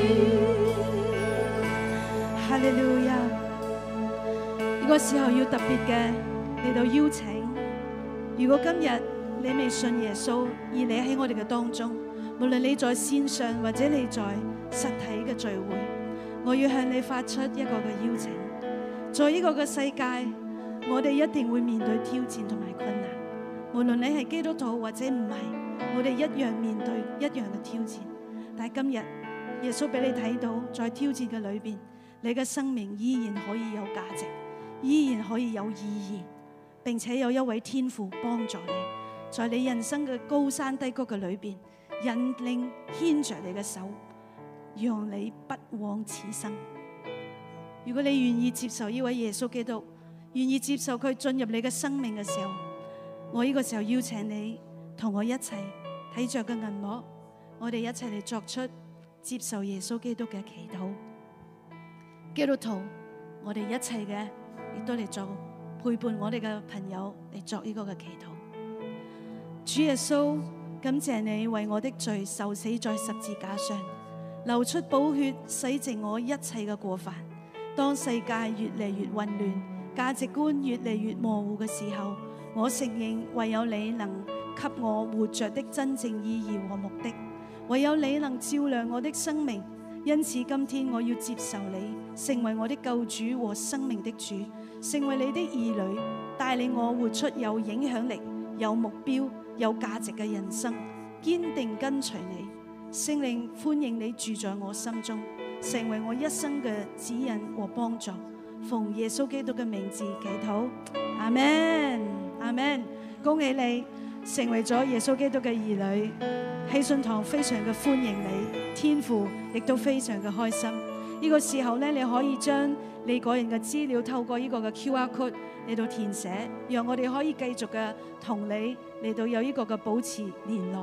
哈利路亞！呢個時候要特別嘅嚟到邀請，如果今日你未信耶穌，而你喺我哋嘅當中，無論你在線上或者你在實體嘅聚會，我要向你發出一個嘅邀請。在呢個嘅世界，我哋一定會面對挑戰同埋困難，無論你係基督徒或者唔係，我哋一樣面對一樣嘅挑戰。但係今日耶穌俾你睇到，在挑戰嘅裏邊，你嘅生命依然可以有價值，依然可以有意義，並且有一位天父幫助你，在你人生嘅高山低谷嘅裏邊，引領牽着你嘅手，讓你不枉此生。如果你願意接受呢位耶穌基督，願意接受佢進入你嘅生命嘅時候，我呢個時候邀請你同我一齊睇着個銀幕，我哋一齊嚟作出接受耶穌基督嘅祈禱。基督徒，我哋一齊嘅亦都嚟做陪伴我哋嘅朋友嚟作呢個嘅祈禱。主耶穌，感謝你為我的罪受死在十字架上，流出寶血洗淨我一切嘅過犯。當世界越嚟越混亂，價值觀越嚟越模糊嘅時候，我承認唯有你能給我活着的真正意義和目的，唯有你能照亮我的生命。因此今天我要接受你，成為我的救主和生命的主，成為你的兒女，帶領我活出有影響力、有目標、有價值嘅人生，堅定跟隨你。聖靈，歡迎你住在我心中，成為我一生嘅指引和幫助。奉耶穌基督嘅名字祈禱，阿們，阿們。恭喜你成為咗耶穌基督嘅兒女，喜信堂非常嘅歡迎你，天父亦都非常嘅開心。呢個時候咧，你可以將你個人嘅資料透過呢個嘅 Q R code 嚟到填寫，讓我哋可以繼續嘅同你嚟到有呢個嘅保持聯絡。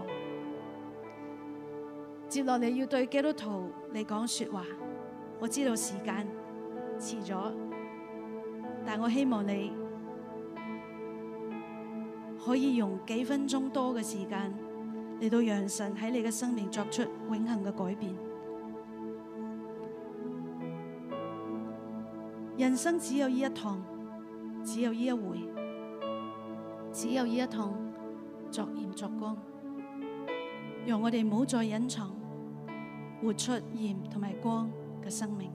接落嚟要對基督徒嚟講說話，我知道時間遲咗，但我希望你可以用幾分鐘多嘅時間嚟到讓神喺你嘅生命作出永恆嘅改變。人生只有呢一趟，只有呢一回，只有呢一趟作鹽作光。讓我哋唔好再隱藏，活出鹽同埋光嘅生命。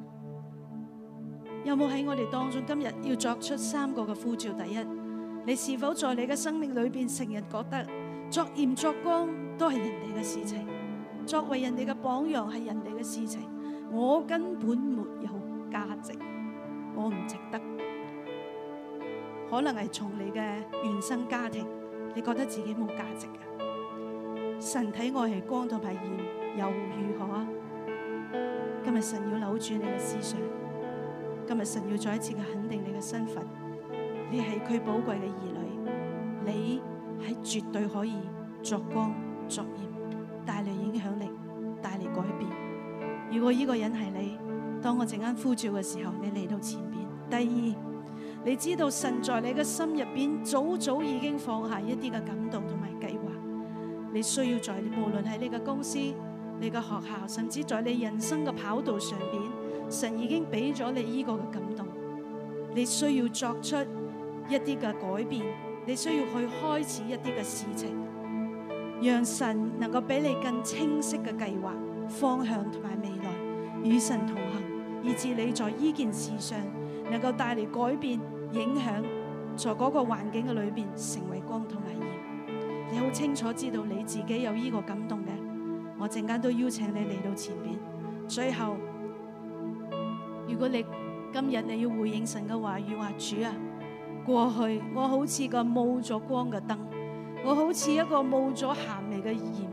有冇喺我哋當中今日要作出三個嘅呼召？第一，你是否在你嘅生命裏邊成日覺得作鹽作光都係人哋嘅事情，作為人哋嘅榜樣係人哋嘅事情，我根本沒有價值，我唔值得。可能係從你嘅原生家庭，你覺得自己冇價值嘅。神睇我係光同埋鹽，又如何啊？今日神要扭轉你嘅思想，今日神要再一次嘅肯定你嘅身份，你係佢寶貴嘅兒女，你係絕對可以作光作鹽，帶嚟影響力，帶嚟改變。如果呢個人係你，當我陣間呼召嘅時候，你嚟到前邊。第二，你知道神在你嘅心入邊早早已經放下一啲嘅感動同埋計劃，你需要在無論喺你嘅公司、你嘅學校，甚至在你人生嘅跑道上邊，神已經俾咗你呢個嘅感動，你需要作出一啲嘅改變，你需要去開始一啲嘅事情，讓神能夠俾你更清晰嘅計劃、方向同埋未來，與神同行，以致你在呢件事上能夠帶嚟改變、影響，在嗰個環境嘅裏邊成為光同埋鹽。你好清楚知道你自己有呢個感動嘅，我陣間都邀請你嚟到前邊。最後，如果你今日你要回應神嘅話語，話主啊，過去我好似個冇咗光嘅燈，我好似一個冇咗鹹味嘅鹽。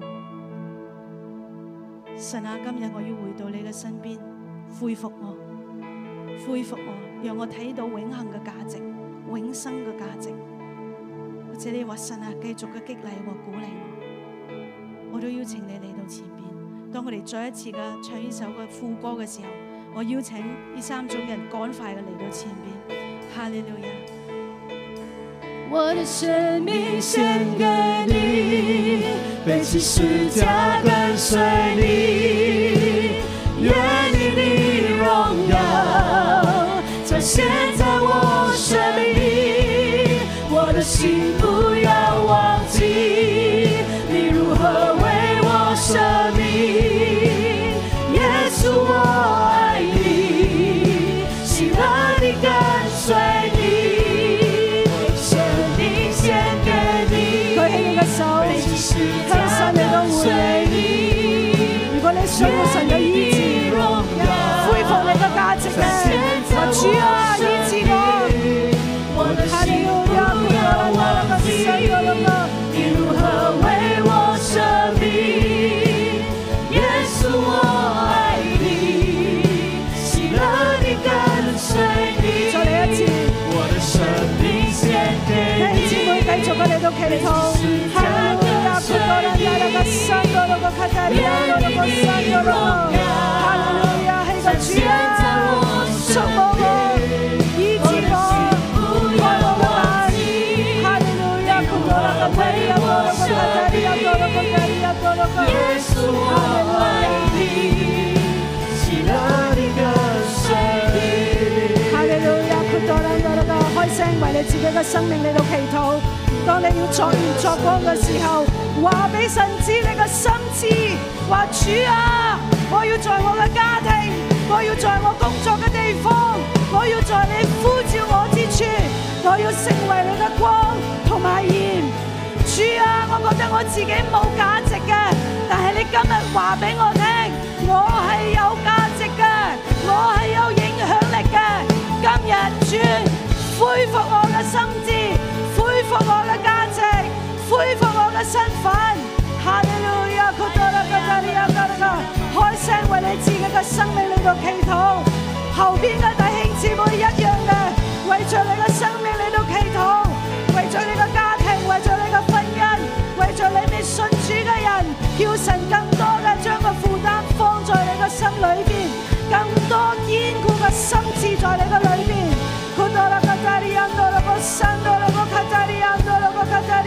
神啊，今日我要回到你嘅身邊，恢復我，恢復我，讓我睇到永恆嘅價值、永生嘅價值。或者你話神啊，繼續嘅激勵和鼓勵我，我都邀請你嚟到前邊。當我哋再一次嘅唱呢首嘅副歌嘅時候，我邀請呢三種人趕快嘅嚟到前邊。哈利路亞！ 我的生命獻給你，背起十架跟隨你，願你的榮耀彰顯在我生命，我的心不要忘記你如何為我捨命，耶穌我愛你，喜樂地跟隨你，生命獻給你， 舉起你嘅手，向神嚟到回應。如果你想要神嘅醫治，恢復你嘅價值嘅，話主啊，醫治我，哈利路亞，不要忘記你如何為我捨命，耶穌我愛你，喜樂地跟隨你。 再嚟一次， 我的生命獻給你。 弟兄姊妹繼續嘅嚟到祈禱，哈利路亞，庫多蘭亞拉個山多羅個卡達利亞多羅個山多羅，哈利路亞，係個主啊，觸摸我，醫治我，開我嘅眼，哈利路亞，庫多蘭個威亞多羅個卡達利亞多羅個卡達利亞多羅個， 耶穌我愛你，喜樂地跟隨你。 哈利路亞，庫多蘭亞拉個開聲為你自己嘅生命嚟到祈禱。當你要作鹽作光嘅時候，話俾神知你嘅心志，話主啊，我要在我嘅家庭，我要在我工作嘅地方，我要在你呼召我之處，我要成為你嘅光同埋鹽。主啊，我覺得我自己冇價值嘅，但係你今日話俾我聽，我係有價值嘅，我係有影響力嘅。今日主恢復我嘅心志，恢復我嘅價值，恢復我嘅身份。哈利路亞，庫多拉卡達利亞多拉個，開聲為你自己嘅生命嚟到祈禱。後邊嘅弟兄姊妹一樣嘅，為着你嘅生命嚟到祈禱，為着你嘅家庭，為着你嘅婚姻，為着你未信主嘅人，叫神更多嘅將個負擔放在你嘅心裏邊，更多堅固嘅心志在你嘅裏邊。庫多拉卡達利亞多拉個山多拉個卡達利亞多拉個卡達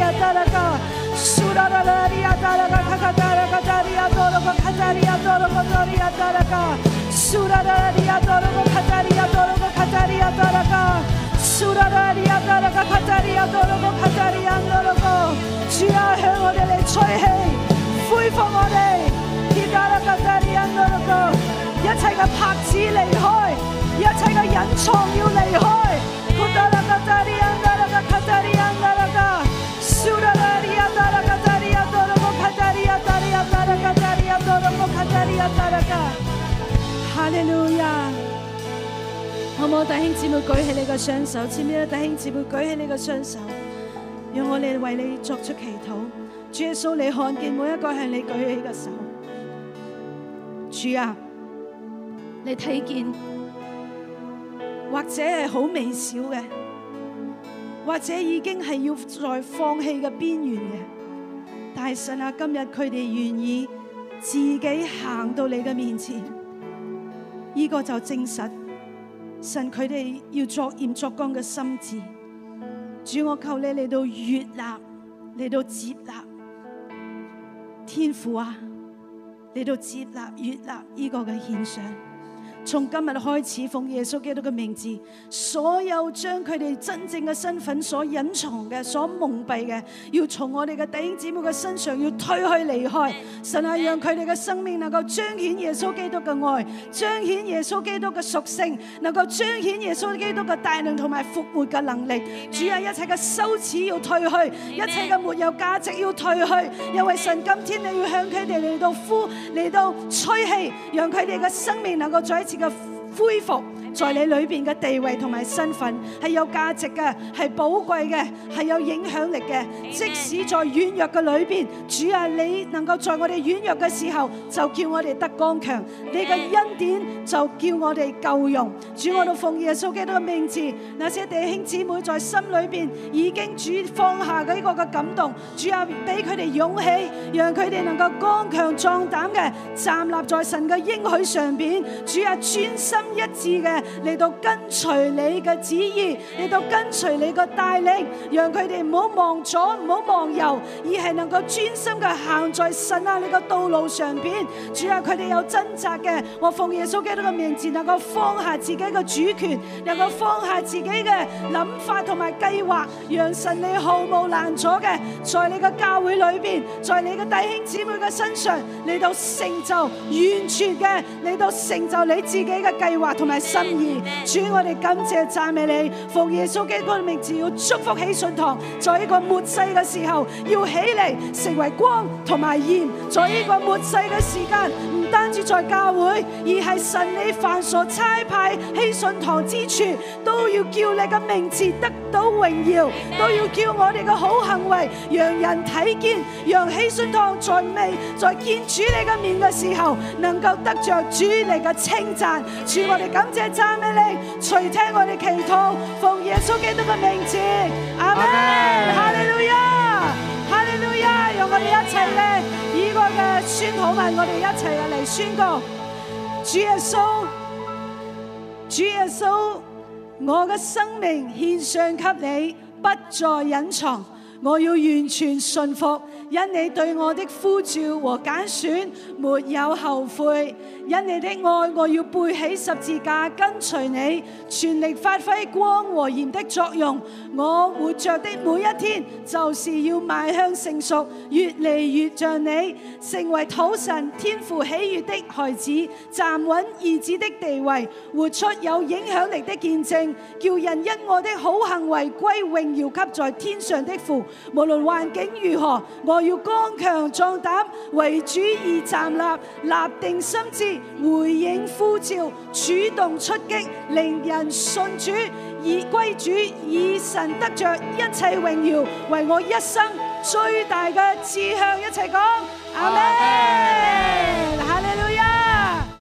呀达拉嘎，苏拉拉拉里亚达拉嘎卡卡达拉嘎达里亚多罗嘎卡达里亚多罗嘎达里亚达拉嘎，苏拉拉里亚多罗嘎卡达里亚多罗嘎卡达里亚达拉嘎，蘇拉拉利亞達拉卡卡達利亞多羅個卡達利亞多羅個，主啊向我哋嚟吹氣，恢復我哋，伊達拉卡達利亞多羅個，一切嘅拍子離開，一切嘅隱藏要離開，古達拉卡達利亞達拉卡卡達利亞多羅個，蘇拉拉利亞達拉卡達利亞多羅個卡達利亞達利亞達拉卡達利亞多羅個卡達利亞達拉個，哈利路亞。好唔好？弟兄姊妹舉起你嘅雙手，前面嘅弟兄姊妹舉起你嘅雙手，讓我哋為你作出祈禱。主耶穌，你看見每一個向你舉起嘅手，主啊，你睇見或者係好微小嘅，或者已經係要在放棄嘅邊緣嘅，但係神啊，今日佢哋願意自己行到你嘅面前，呢、這個就證實。神佢哋要作鹽作光嘅心志，主我求你嚟到悅納，嚟到接納，天父啊，嚟到接納悅納呢個嘅獻上。從今日開始，奉耶穌基督嘅名字，所有將佢哋真正嘅身份所隱藏嘅、所蒙蔽嘅，要從我哋嘅弟兄姊妹嘅身上要推去離開。神啊，讓佢哋嘅生命能夠彰顯耶穌基督嘅愛，彰顯耶穌基督嘅屬性，能夠彰顯耶穌基督嘅大能同埋復活嘅能力。主啊，一切嘅羞恥要退去，一切嘅沒有價值要退去，因為神今天你要向佢哋嚟到呼，嚟到吹氣，讓佢哋嘅生命能夠再一次嘅恢復，在你裏邊嘅地位同埋身份係有價值嘅，係寶貴嘅，係有影響力嘅。即使在軟弱嘅裏邊，主啊，你能夠在我哋軟弱嘅時候，就叫我哋得剛強。你嘅恩典就叫我哋夠用。主，我哋奉耶穌基督嘅名字，那些弟兄姊妹在心裏邊已經主放下嘅呢個嘅感動，主啊，俾佢哋勇氣，讓佢哋能夠剛強壯膽嘅站立在神嘅應許上邊。主啊，專心一致嘅嚟到跟隨你嘅旨意，嚟到跟隨你嘅帶領，讓佢哋唔好望左唔好望右，而係能夠專心嘅行在神啊你嘅道路上邊。主啊，佢哋有掙扎嘅，我奉耶穌基督嘅名字，能夠放下自己嘅主權，能夠放下自己嘅諗法同埋計劃，讓神你毫無攔阻嘅，在你嘅教會裏邊，在你嘅弟兄姊妹嘅身上嚟到成就完全嘅，嚟到成就你自己嘅計劃同埋心意。主，我哋感謝讚美你，奉耶穌基督嘅名字，要祝福喜信堂，在呢個末世嘅時候要起嚟成為光同埋鹽。在呢個末世嘅時間，唔單止在教會，而係神你凡所差派喜信堂之處，都要叫你嘅名字得到榮耀，都要叫我哋嘅好行為讓人睇見，讓喜信堂在未在見主你嘅面嘅時候，能夠得着主你嘅稱讚。主，我哋感謝讚美你，垂聽我哋祈禱，奉耶穌基督嘅名字，阿門。哈利路亞，哈利路亞，讓我哋一齊咧以個嘅宣禱文，我哋一齊嚟宣告：主耶穌，主耶穌，我嘅生命獻上給你，不再隱藏，我要完全順服，因你對我的呼召和揀選沒有後悔。因你的愛，我要背起十字架跟隨你，全力發揮光和鹽的作用。我活着的每一天，就是要邁向成熟，越嚟越像你，成為討神天父喜悅的孩子，站穩兒子的地位，活出有影響力的見證，叫人因我的好行為歸榮耀給在天上的父。無論環境如何，我要剛強壯膽，為主而站立，立定心志，回應呼召，主動出擊，令人信主，以歸主，以神得着一切榮耀，為我一生最大嘅志向。一齊講，阿們。